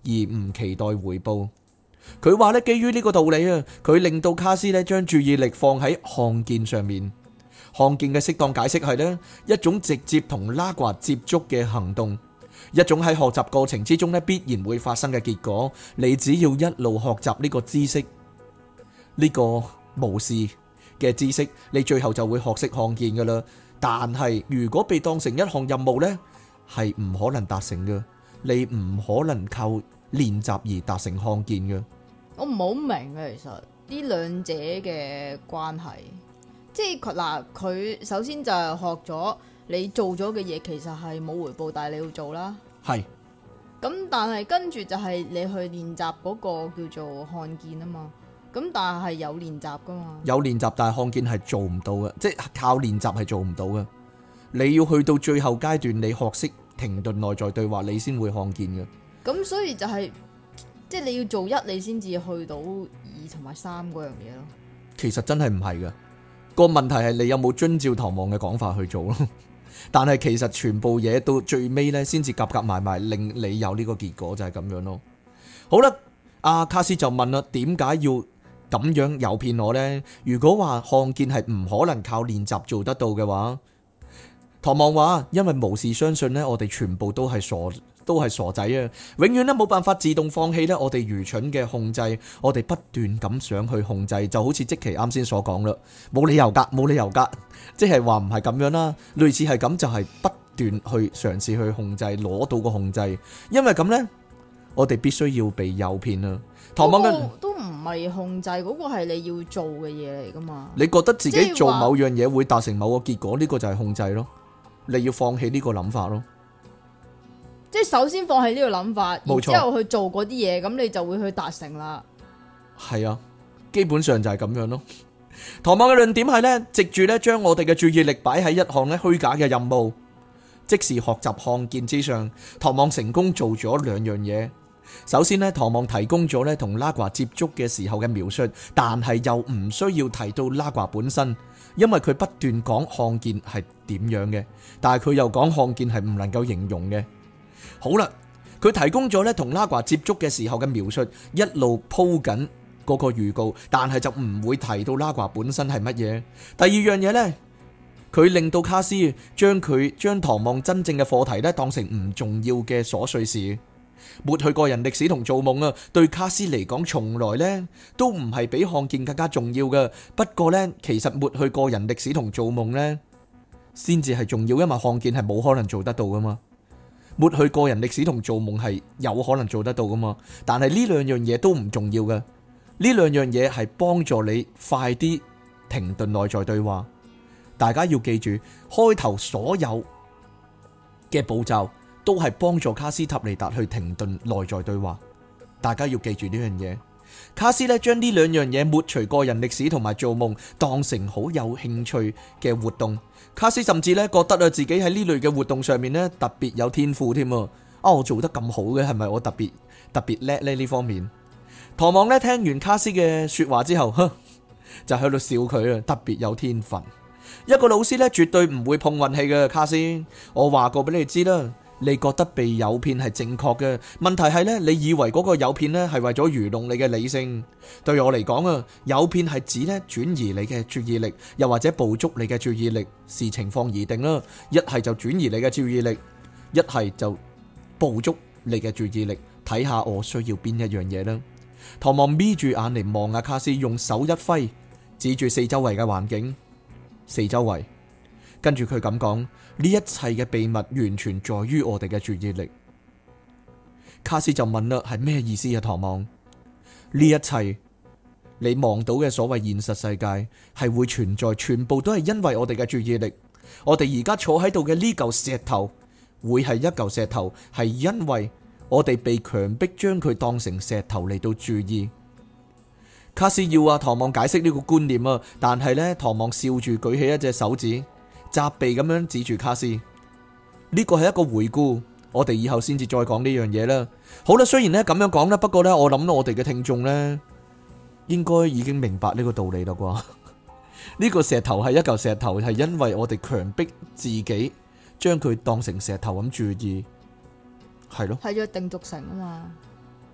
而唔期待回報。佢話咧，基於呢個道理啊，佢令到卡斯咧將注意力放喺看見上面。看見嘅適當解釋係咧一種直接同拉掛接觸嘅行動，一種喺學習過程之中咧必然會發生嘅結果。你只要一路學習呢個知識，呢個無視嘅知識，你最後就會學識看見噶啦。但係如果被當成一項任務呢，係唔可能達成嘅。你唔可能靠練習而達成看見嘅。 我唔係好明嘅，其實呢兩者嘅關係，即係佢首先就係學咗你做咗嘅嘢，其實係冇回報，但係你要做啦。 係。 咁但係跟住就係你去練習嗰個叫做看見啊嘛。咁但係有練習噶嘛？有練習，但係看見係做唔到嘅，即係靠練習係做唔到嘅。你要去到最後階段，你學識停頓內在對話，你先會看見嘅。 咁所以就係即係你要做一，你先至去到二同埋三嗰樣嘢咯。 其實真係唔係嘅，個問題係你有冇遵照唐望嘅講法去做咯。但係其實全部嘢到最尾呢，先至夾埋埋，令你有呢個結果，就係咁樣咯。好啦，阿卡斯就問啦，點解要咁樣誘騙我呢？如果話看見係唔可能靠練習做得到嘅話，唐望話，因為無事相信呢，我哋全部都係傻仔啊！永遠都冇辦法自動放棄呢，我哋愚蠢嘅控制，我哋不斷咁想去控制，就好似即其啱先所講啦，冇理由噶，即係話唔係咁樣啦，類似係咁就係不斷去嘗試去控制，攞到個控制，因為咁呢，我哋必須要被誘騙啊！唐望都唔係控制，嗰個係你要做嘅嘢嚟噶嘛？ 你覺得自己做某樣嘢會達成某個結果，呢個就係控制咯。你要放棄呢個諗法咯。 即係首先放棄呢個諗法， 冇錯， 然之後去做嗰啲嘢，咁你就會去達成啦。 係啊，基本上就係咁樣咯。唐望嘅論點係呢，藉住呢將我哋嘅注意力擺喺一項呢虛假嘅任務，即是學習看見之上。唐望成功做咗兩樣嘢。首先呢，唐望提供咗呢同拉掛接觸嘅時候嘅描述，但係又唔需要提到拉掛本身，因為佢不斷講看見係點樣嘅，但係佢又講看見係唔能夠形容嘅。好啦，佢提供咗咧同拉掛接觸嘅時候嘅描述，一路鋪緊嗰個預告，但係就唔會提到拉掛本身係乜嘢。第二樣嘢呢，佢令到卡斯將唐望真正嘅課題咧當成唔重要嘅瑣碎事。抹去個人歷史同做夢啊，對卡斯嚟講從來呢都唔係比看見更加重要嘅。不過呢，其實抹去個人歷史同做夢呢先至係重要，因為看見係冇可能做得到噶嘛。抹去個人歷史同做夢係有可能做得到噶嘛，但係呢兩樣嘢都唔重要嘅。呢兩樣嘢係幫助你快啲停頓內在對話。大家要記住，開頭所有嘅步驟都係幫助卡斯塔尼達去停頓內在對話。大家要記住呢樣嘢。卡斯呢將呢兩樣嘢抹除個人歷史同埋做夢當成好有興趣嘅活動。卡斯甚至呢覺得啊自己喺呢類嘅活動上面呢特別有天賦添啊！我做得咁好嘅，係咪我特別叻呢？呢方面，唐望呢聽完卡斯嘅說話之後，就喺度笑佢啊，特別有天分。一個老師呢絕對唔會碰運氣嘅，卡斯，我話過俾你知啦。你覺得被誘騙係正確嘅，問題係呢，你以為嗰個誘騙呢係為咗愚弄你嘅理性。對我嚟講啊，誘騙係指呢轉移你嘅注意力，又或者捕捉你嘅注意力，視情況而定啦。一係就轉移你嘅注意力，一係就捕捉你嘅注意力，睇下我需要邊一樣嘢啦。唐望眯住眼嚟望阿卡斯，用手一揮，指住四周圍嘅環境，四周圍。跟住佢咁講，呢一切嘅秘密完全在於我哋嘅注意力。卡斯就問啦，係咩意思啊？唐望，呢一切你望到嘅所謂現實世界係會存在，全部都係因為我哋嘅注意力。我哋而家坐喺度嘅呢嚿石頭會係一嚿石頭，係因為我哋被強迫將佢當成石頭嚟到注意。卡斯要阿唐望解釋呢個觀念啊，但係呢，唐望笑住舉起一隻手指，責備咁樣指住卡斯，呢個係一個回顧，我哋以後先至再講呢樣嘢啦。好啦，雖然呢咁樣講啦，不過呢，我諗我哋嘅聽眾呢應該已經明白呢個道理啦啩。呢個石頭係一嚿石頭，係因為我哋強迫自己將佢當成石頭咁注意，係咯， 係約定俗成啊嘛。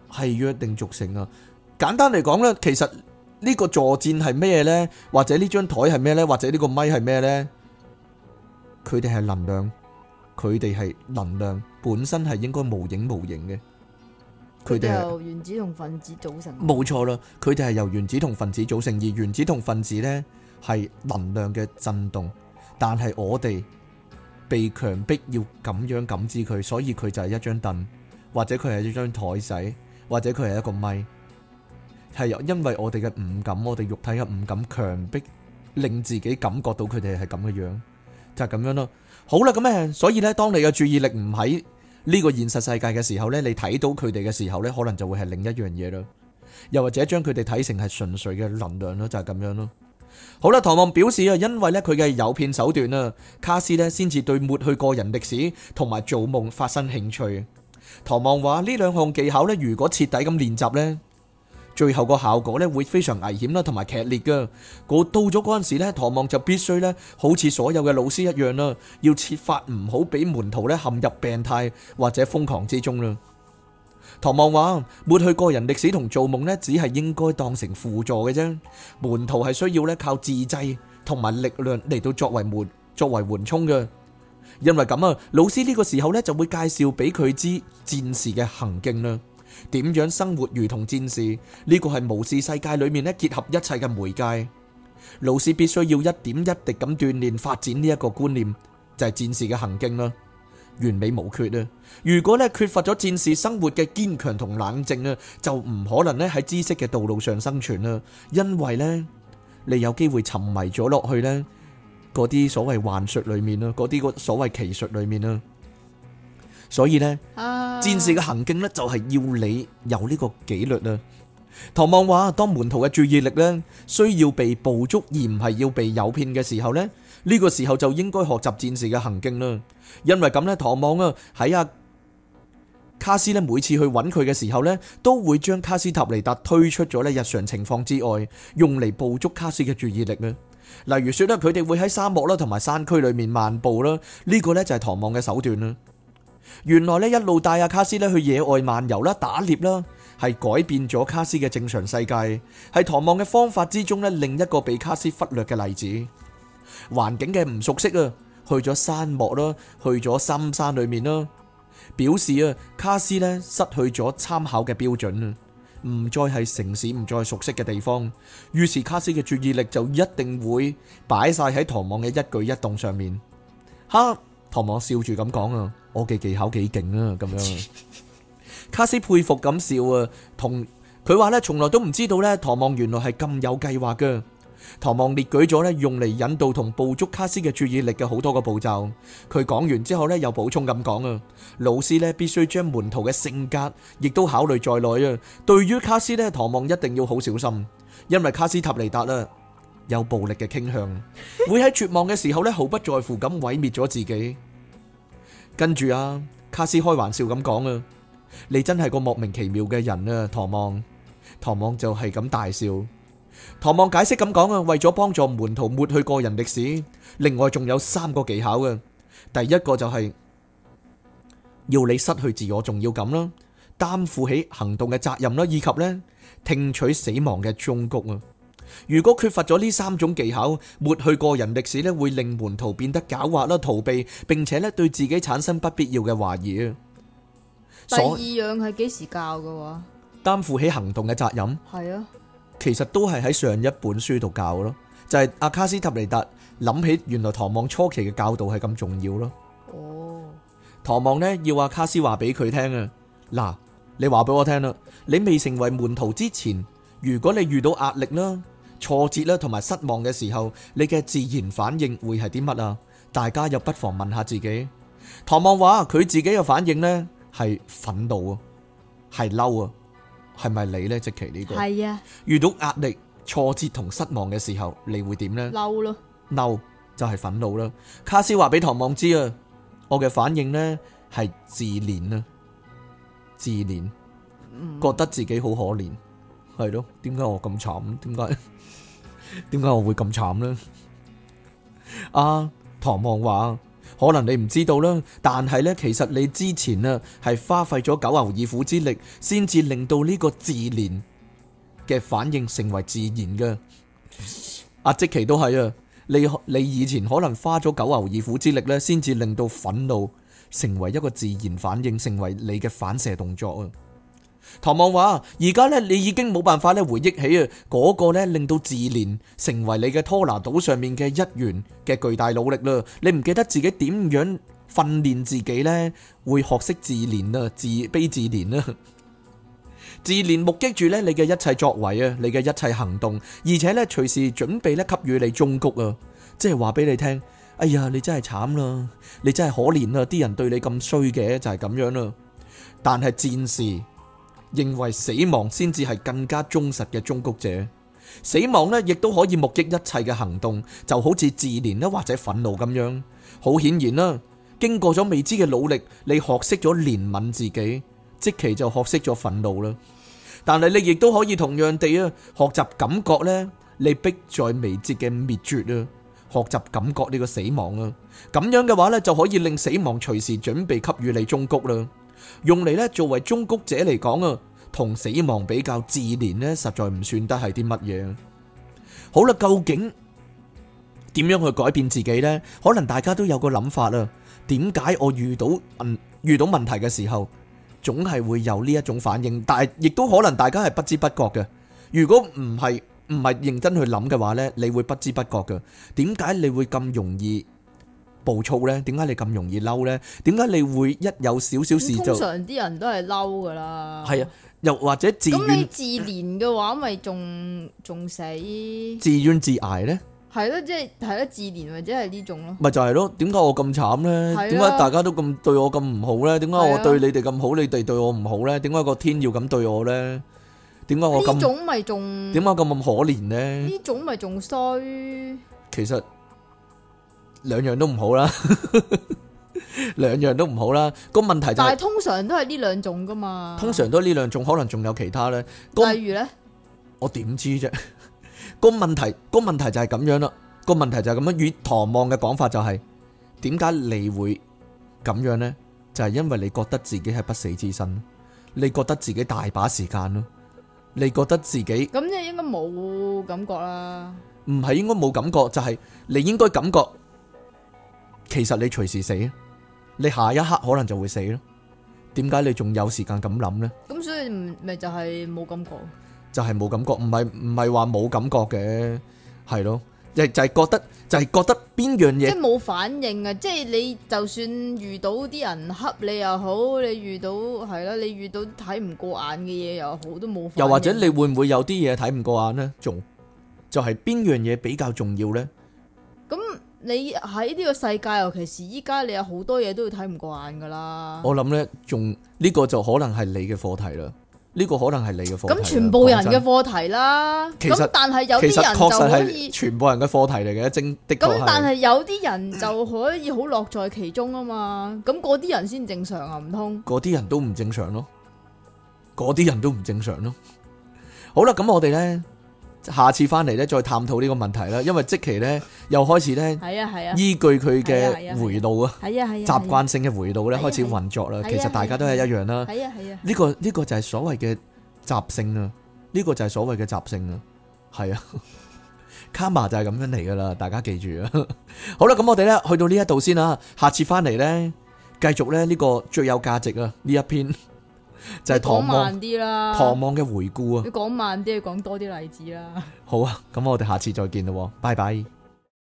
係約定俗成啊。簡單嚟講咧，其實呢個坐墊係咩呢？或者呢張台係咩呢？或者呢個咪係咩呢？佢哋係能量，佢哋係能量本身係應該無影無形嘅。佢哋係由原子同分子組成。 冇錯啦，佢哋係由原子同分子組成，而原子同分子呢係能量嘅震動，但係我哋被強迫要咁樣感知佢，所以佢就係一張凳，或者佢係一張台仔，或者佢係一個咪，係因為我哋嘅五感，我哋肉體嘅五感強迫令自己感覺到佢哋係咁嘅樣，就係咁樣咯。好啦，咁所以呢，當你嘅注意力唔喺呢個現實世界嘅時候呢，你睇到佢哋嘅時候呢，可能就會係另一樣嘢啦。又或者將佢哋睇成係純粹嘅能量咯，就係咁樣咯。好啦，唐望表示啊，因為呢，佢嘅誘騙手段啊，卡斯呢先至對抹去個人歷史同埋做夢發生興趣。唐望話呢兩項技巧呢，如果徹底咁練習呢，最後個效果呢會非常危險啦，同埋劇烈噶。到咗嗰陣時呢，唐望就必須呢，好似所有嘅老師一樣啦，要設法唔好俾門徒呢陷入病態或者瘋狂之中啦。唐望話抹去個人歷史同做夢呢，只係應該當成輔助嘅啫。門徒係需要呢靠自制同埋力量嚟到作為緩衝嘅。因為咁啊，老師呢個時候呢，就會介紹俾佢知戰士嘅行徑啦。點樣生活如同戰士？呢個係巫士世界裏面咧結合一切嘅媒介。老師必須要一點一滴咁鍛煉發展呢一個觀念，就係戰士嘅行徑啦，完美無缺啊！如果咧缺乏咗戰士生活嘅堅強同冷靜啊，就唔可能咧喺知識嘅道路上生存啦。因為呢，你有機會沉迷咗落去呢嗰啲所謂幻術裏面啦，嗰啲所謂奇術裏面啦。所以呢，戰士嘅行徑呢，就係要你有呢個紀律啊。唐望話，當門徒嘅注意力呢需要被捕捉而唔係要被誘騙嘅時候呢，呢個時候就應該學習戰士嘅行徑啦。因為咁呢，唐望啊喺阿卡斯呢每次去揾佢嘅時候呢，都會將卡斯塔尼達推出咗呢日常情況之外，用嚟捕捉卡斯嘅注意力啊。例如說呢，佢哋會喺沙漠啦同埋山區裏面漫步啦，呢個呢就係唐望嘅手段啦。原來呢一路帶阿卡斯呢去野外漫遊啦、打獵啦，係改變咗卡斯嘅正常世界，係唐望嘅方法之中呢另一個被卡斯忽略嘅例子。環境嘅唔熟悉啊，去咗沙漠啦，去咗深山裏面啦，表示啊卡斯呢失去咗參考嘅標準啊，唔再係城市，唔再熟悉嘅地方，於是卡斯嘅注意力就一定會擺晒喺唐望嘅一舉一動上面。哈！唐望笑住咁講啊，我嘅技巧幾勁啊，咁樣。卡斯佩服咁笑啊，同佢話呢，從來都唔知道呢，唐望原來係咁有計劃噶。唐望列舉咗呢，用嚟引導同捕捉卡斯嘅注意力嘅好多個步驟。佢講完之後呢，又補充咁講啊，老師呢必須將門徒嘅性格亦都考慮在內啊。對於卡斯呢，唐望一定要好小心，因為卡斯塔尼達啦，有暴力嘅傾向，會喺絕望嘅時候咧，毫不在乎咁毀滅咗自己。跟住啊，卡斯開玩笑咁講啊，你真係個莫名其妙嘅人啊，唐望。唐望就係咁大笑。唐望解釋咁講啊，為咗幫助門徒抹去個人歷史，另外仲有3個技巧嘅。第一個就係要你失去自我重要感啦，擔負起行動嘅責任啦，以及咧聽取死亡嘅忠告啊。如果缺乏咗呢3種技巧，抹去個人歷史咧，會令門徒變得狡猾啦、逃避，並且咧對自己產生不必要嘅懷疑啊。 第二樣係幾時教嘅話？ 擔負起行動嘅責任， 係啊， 其實都係喺上一本書度教咯，就係阿卡斯塔尼達諗起原來唐望初期嘅教導係咁重要咯。 哦， 唐望呢要阿卡斯話俾佢聽啊，嗱，你話俾我聽啦，你未成為門徒之前，如果你遇到壓力啦、挫折啦同埋失望嘅時候，你嘅自然反應會係啲乜啊？大家又不妨問下自己。唐望話佢自己嘅反應呢係憤怒啊，係嬲啊，係咪你呢？即其呢個係啊， 遇到壓力、挫折同失望嘅時候，你會點呢？ 嬲咯， 嬲就係憤怒啦。卡斯話俾唐望知啊，我嘅反應呢係自憐啊，自憐，覺得自己好可憐。係咯，點解我咁慘？點解我會咁慘呢？唐望話可能你唔知道啦，但係呢，其實你之前啊係花費咗九牛二虎之力，先至令到呢個自憐嘅反應成為自然嘅。阿即奇都係啊，你以前可能花咗九牛二虎之力呢，先至令到憤怒成為一個自然反應，成為你嘅反射動作啊。唐望話：而家咧，你已經冇辦法咧回憶起啊嗰個咧令到自憐成為你嘅拖拿島上面嘅一員嘅巨大努力啦。你唔記得自己點樣訓練自己咧，會學識自憐啊，自卑自憐啊。自憐目擊住咧你嘅一切作為啊，你嘅一切行動，而且咧隨時準備咧給予你忠告啊，即係話俾你聽：哎呀，你真係慘啦，你真係可憐啦，啲人對你咁衰嘅就係咁樣啦。但係戰士認為死亡先至係更加忠實嘅忠告者，死亡呢亦都可以目擊一切嘅行動，就好似自憐啦或者憤怒咁樣。好顯然啦，經過咗未知嘅努力，你學識咗憐憫自己，即期就學識咗憤怒啦。但係你亦都可以同樣地啊，學習感覺呢，你迫在眉睫嘅滅絕啊，學習感覺呢個死亡啊。咁樣嘅話呢，就可以令死亡隨時準備給予你忠告啦。用嚟咧作為忠告者嚟講啊，同死亡比較，自憐呢實在唔算得係啲乜嘢。好啦，究竟點樣去改變自己呢？可能大家都有個諗法啊。點解我遇到問題嘅時候，總係會有呢一種反應？但係亦都可能大家係不知不覺嘅。如果唔係認真去諗嘅話呢，你會不知不覺嘅。點解你會咁容易暴躁呢？點解你咁容易嬲呢？點解你會一有少少事就通常啲人都係嬲噶啦。 係啊，又或者自咁你怨自憐嘅話，咪仲死？ 自怨自艾呢？ 係咯，即係咯，自憐或者係呢種咯。 咪就係咯？點解我咁慘呢？點解大家都咁對我咁唔好呢？點解我對你哋咁好，你哋對我唔好呢？點解個天要咁對我呢？點解我咁？呢種咪仲點解咁可憐呢？呢種咪仲衰？其實兩樣都唔好啦，兩樣都唔好啦。個問題就係，但係通常都係呢兩種噶嘛。通常都係呢兩種，可能仲有其他呢。例如呢，我點知啫？個問題就係咁樣啦。個問題就係咁樣。與唐望嘅講法就係，點解你會咁樣呢？就係因為你覺得自己係不死之身，你覺得自己大把時間咯，你覺得自己咁即係應該冇感覺啦。唔係應該冇感覺，就係你應該感覺。其實你隨時死，你下一刻可能就會死咯。點解你仲有時間咁諗呢？咁所以咪就係冇感覺，就係冇感覺，唔係話冇感覺嘅，係咯，就係覺得邊樣嘢，即係冇反應啊！即係你就算遇到啲人恰你又好，你遇到係啦，你遇到睇唔過眼嘅嘢又好，都冇反應。又或者你會唔會有啲嘢睇唔過眼呢？仲就係邊樣嘢比較重要呢？咁你喺呢個世界，尤其是依家，你有好多嘢都要睇唔過眼噶啦。我諗呢，仲呢個就可能係你嘅課題啦。呢個可能係你嘅課題。咁全部人嘅課題啦。咁但係有啲人就可以全部人嘅課題嚟嘅，的確係。咁但係有啲人就可以好樂在其中啊嘛。咁嗰啲人先正常啊，唔通？嗰啲人都唔正常咯。嗰啲人都唔正常咯。好啦，咁我哋呢，下次翻嚟咧，再探討呢個問題啦。因為即期咧又開始咧，依據佢嘅回路啊，習慣性嘅回路咧開始運作啦。其實大家都係一樣啦。呢個就係所謂嘅習性啊。呢個就係所謂嘅習性啊。係啊，卡瑪就係咁樣嚟噶啦。大家記住啊。好啦，咁我哋咧去到呢一度先啦。下次翻嚟咧，繼續咧呢個最有價值啊呢一篇。就係唐望嘅回顧啊！你講慢啲，講多啲例子啦。好啊，咁我哋下次再見咯，拜拜。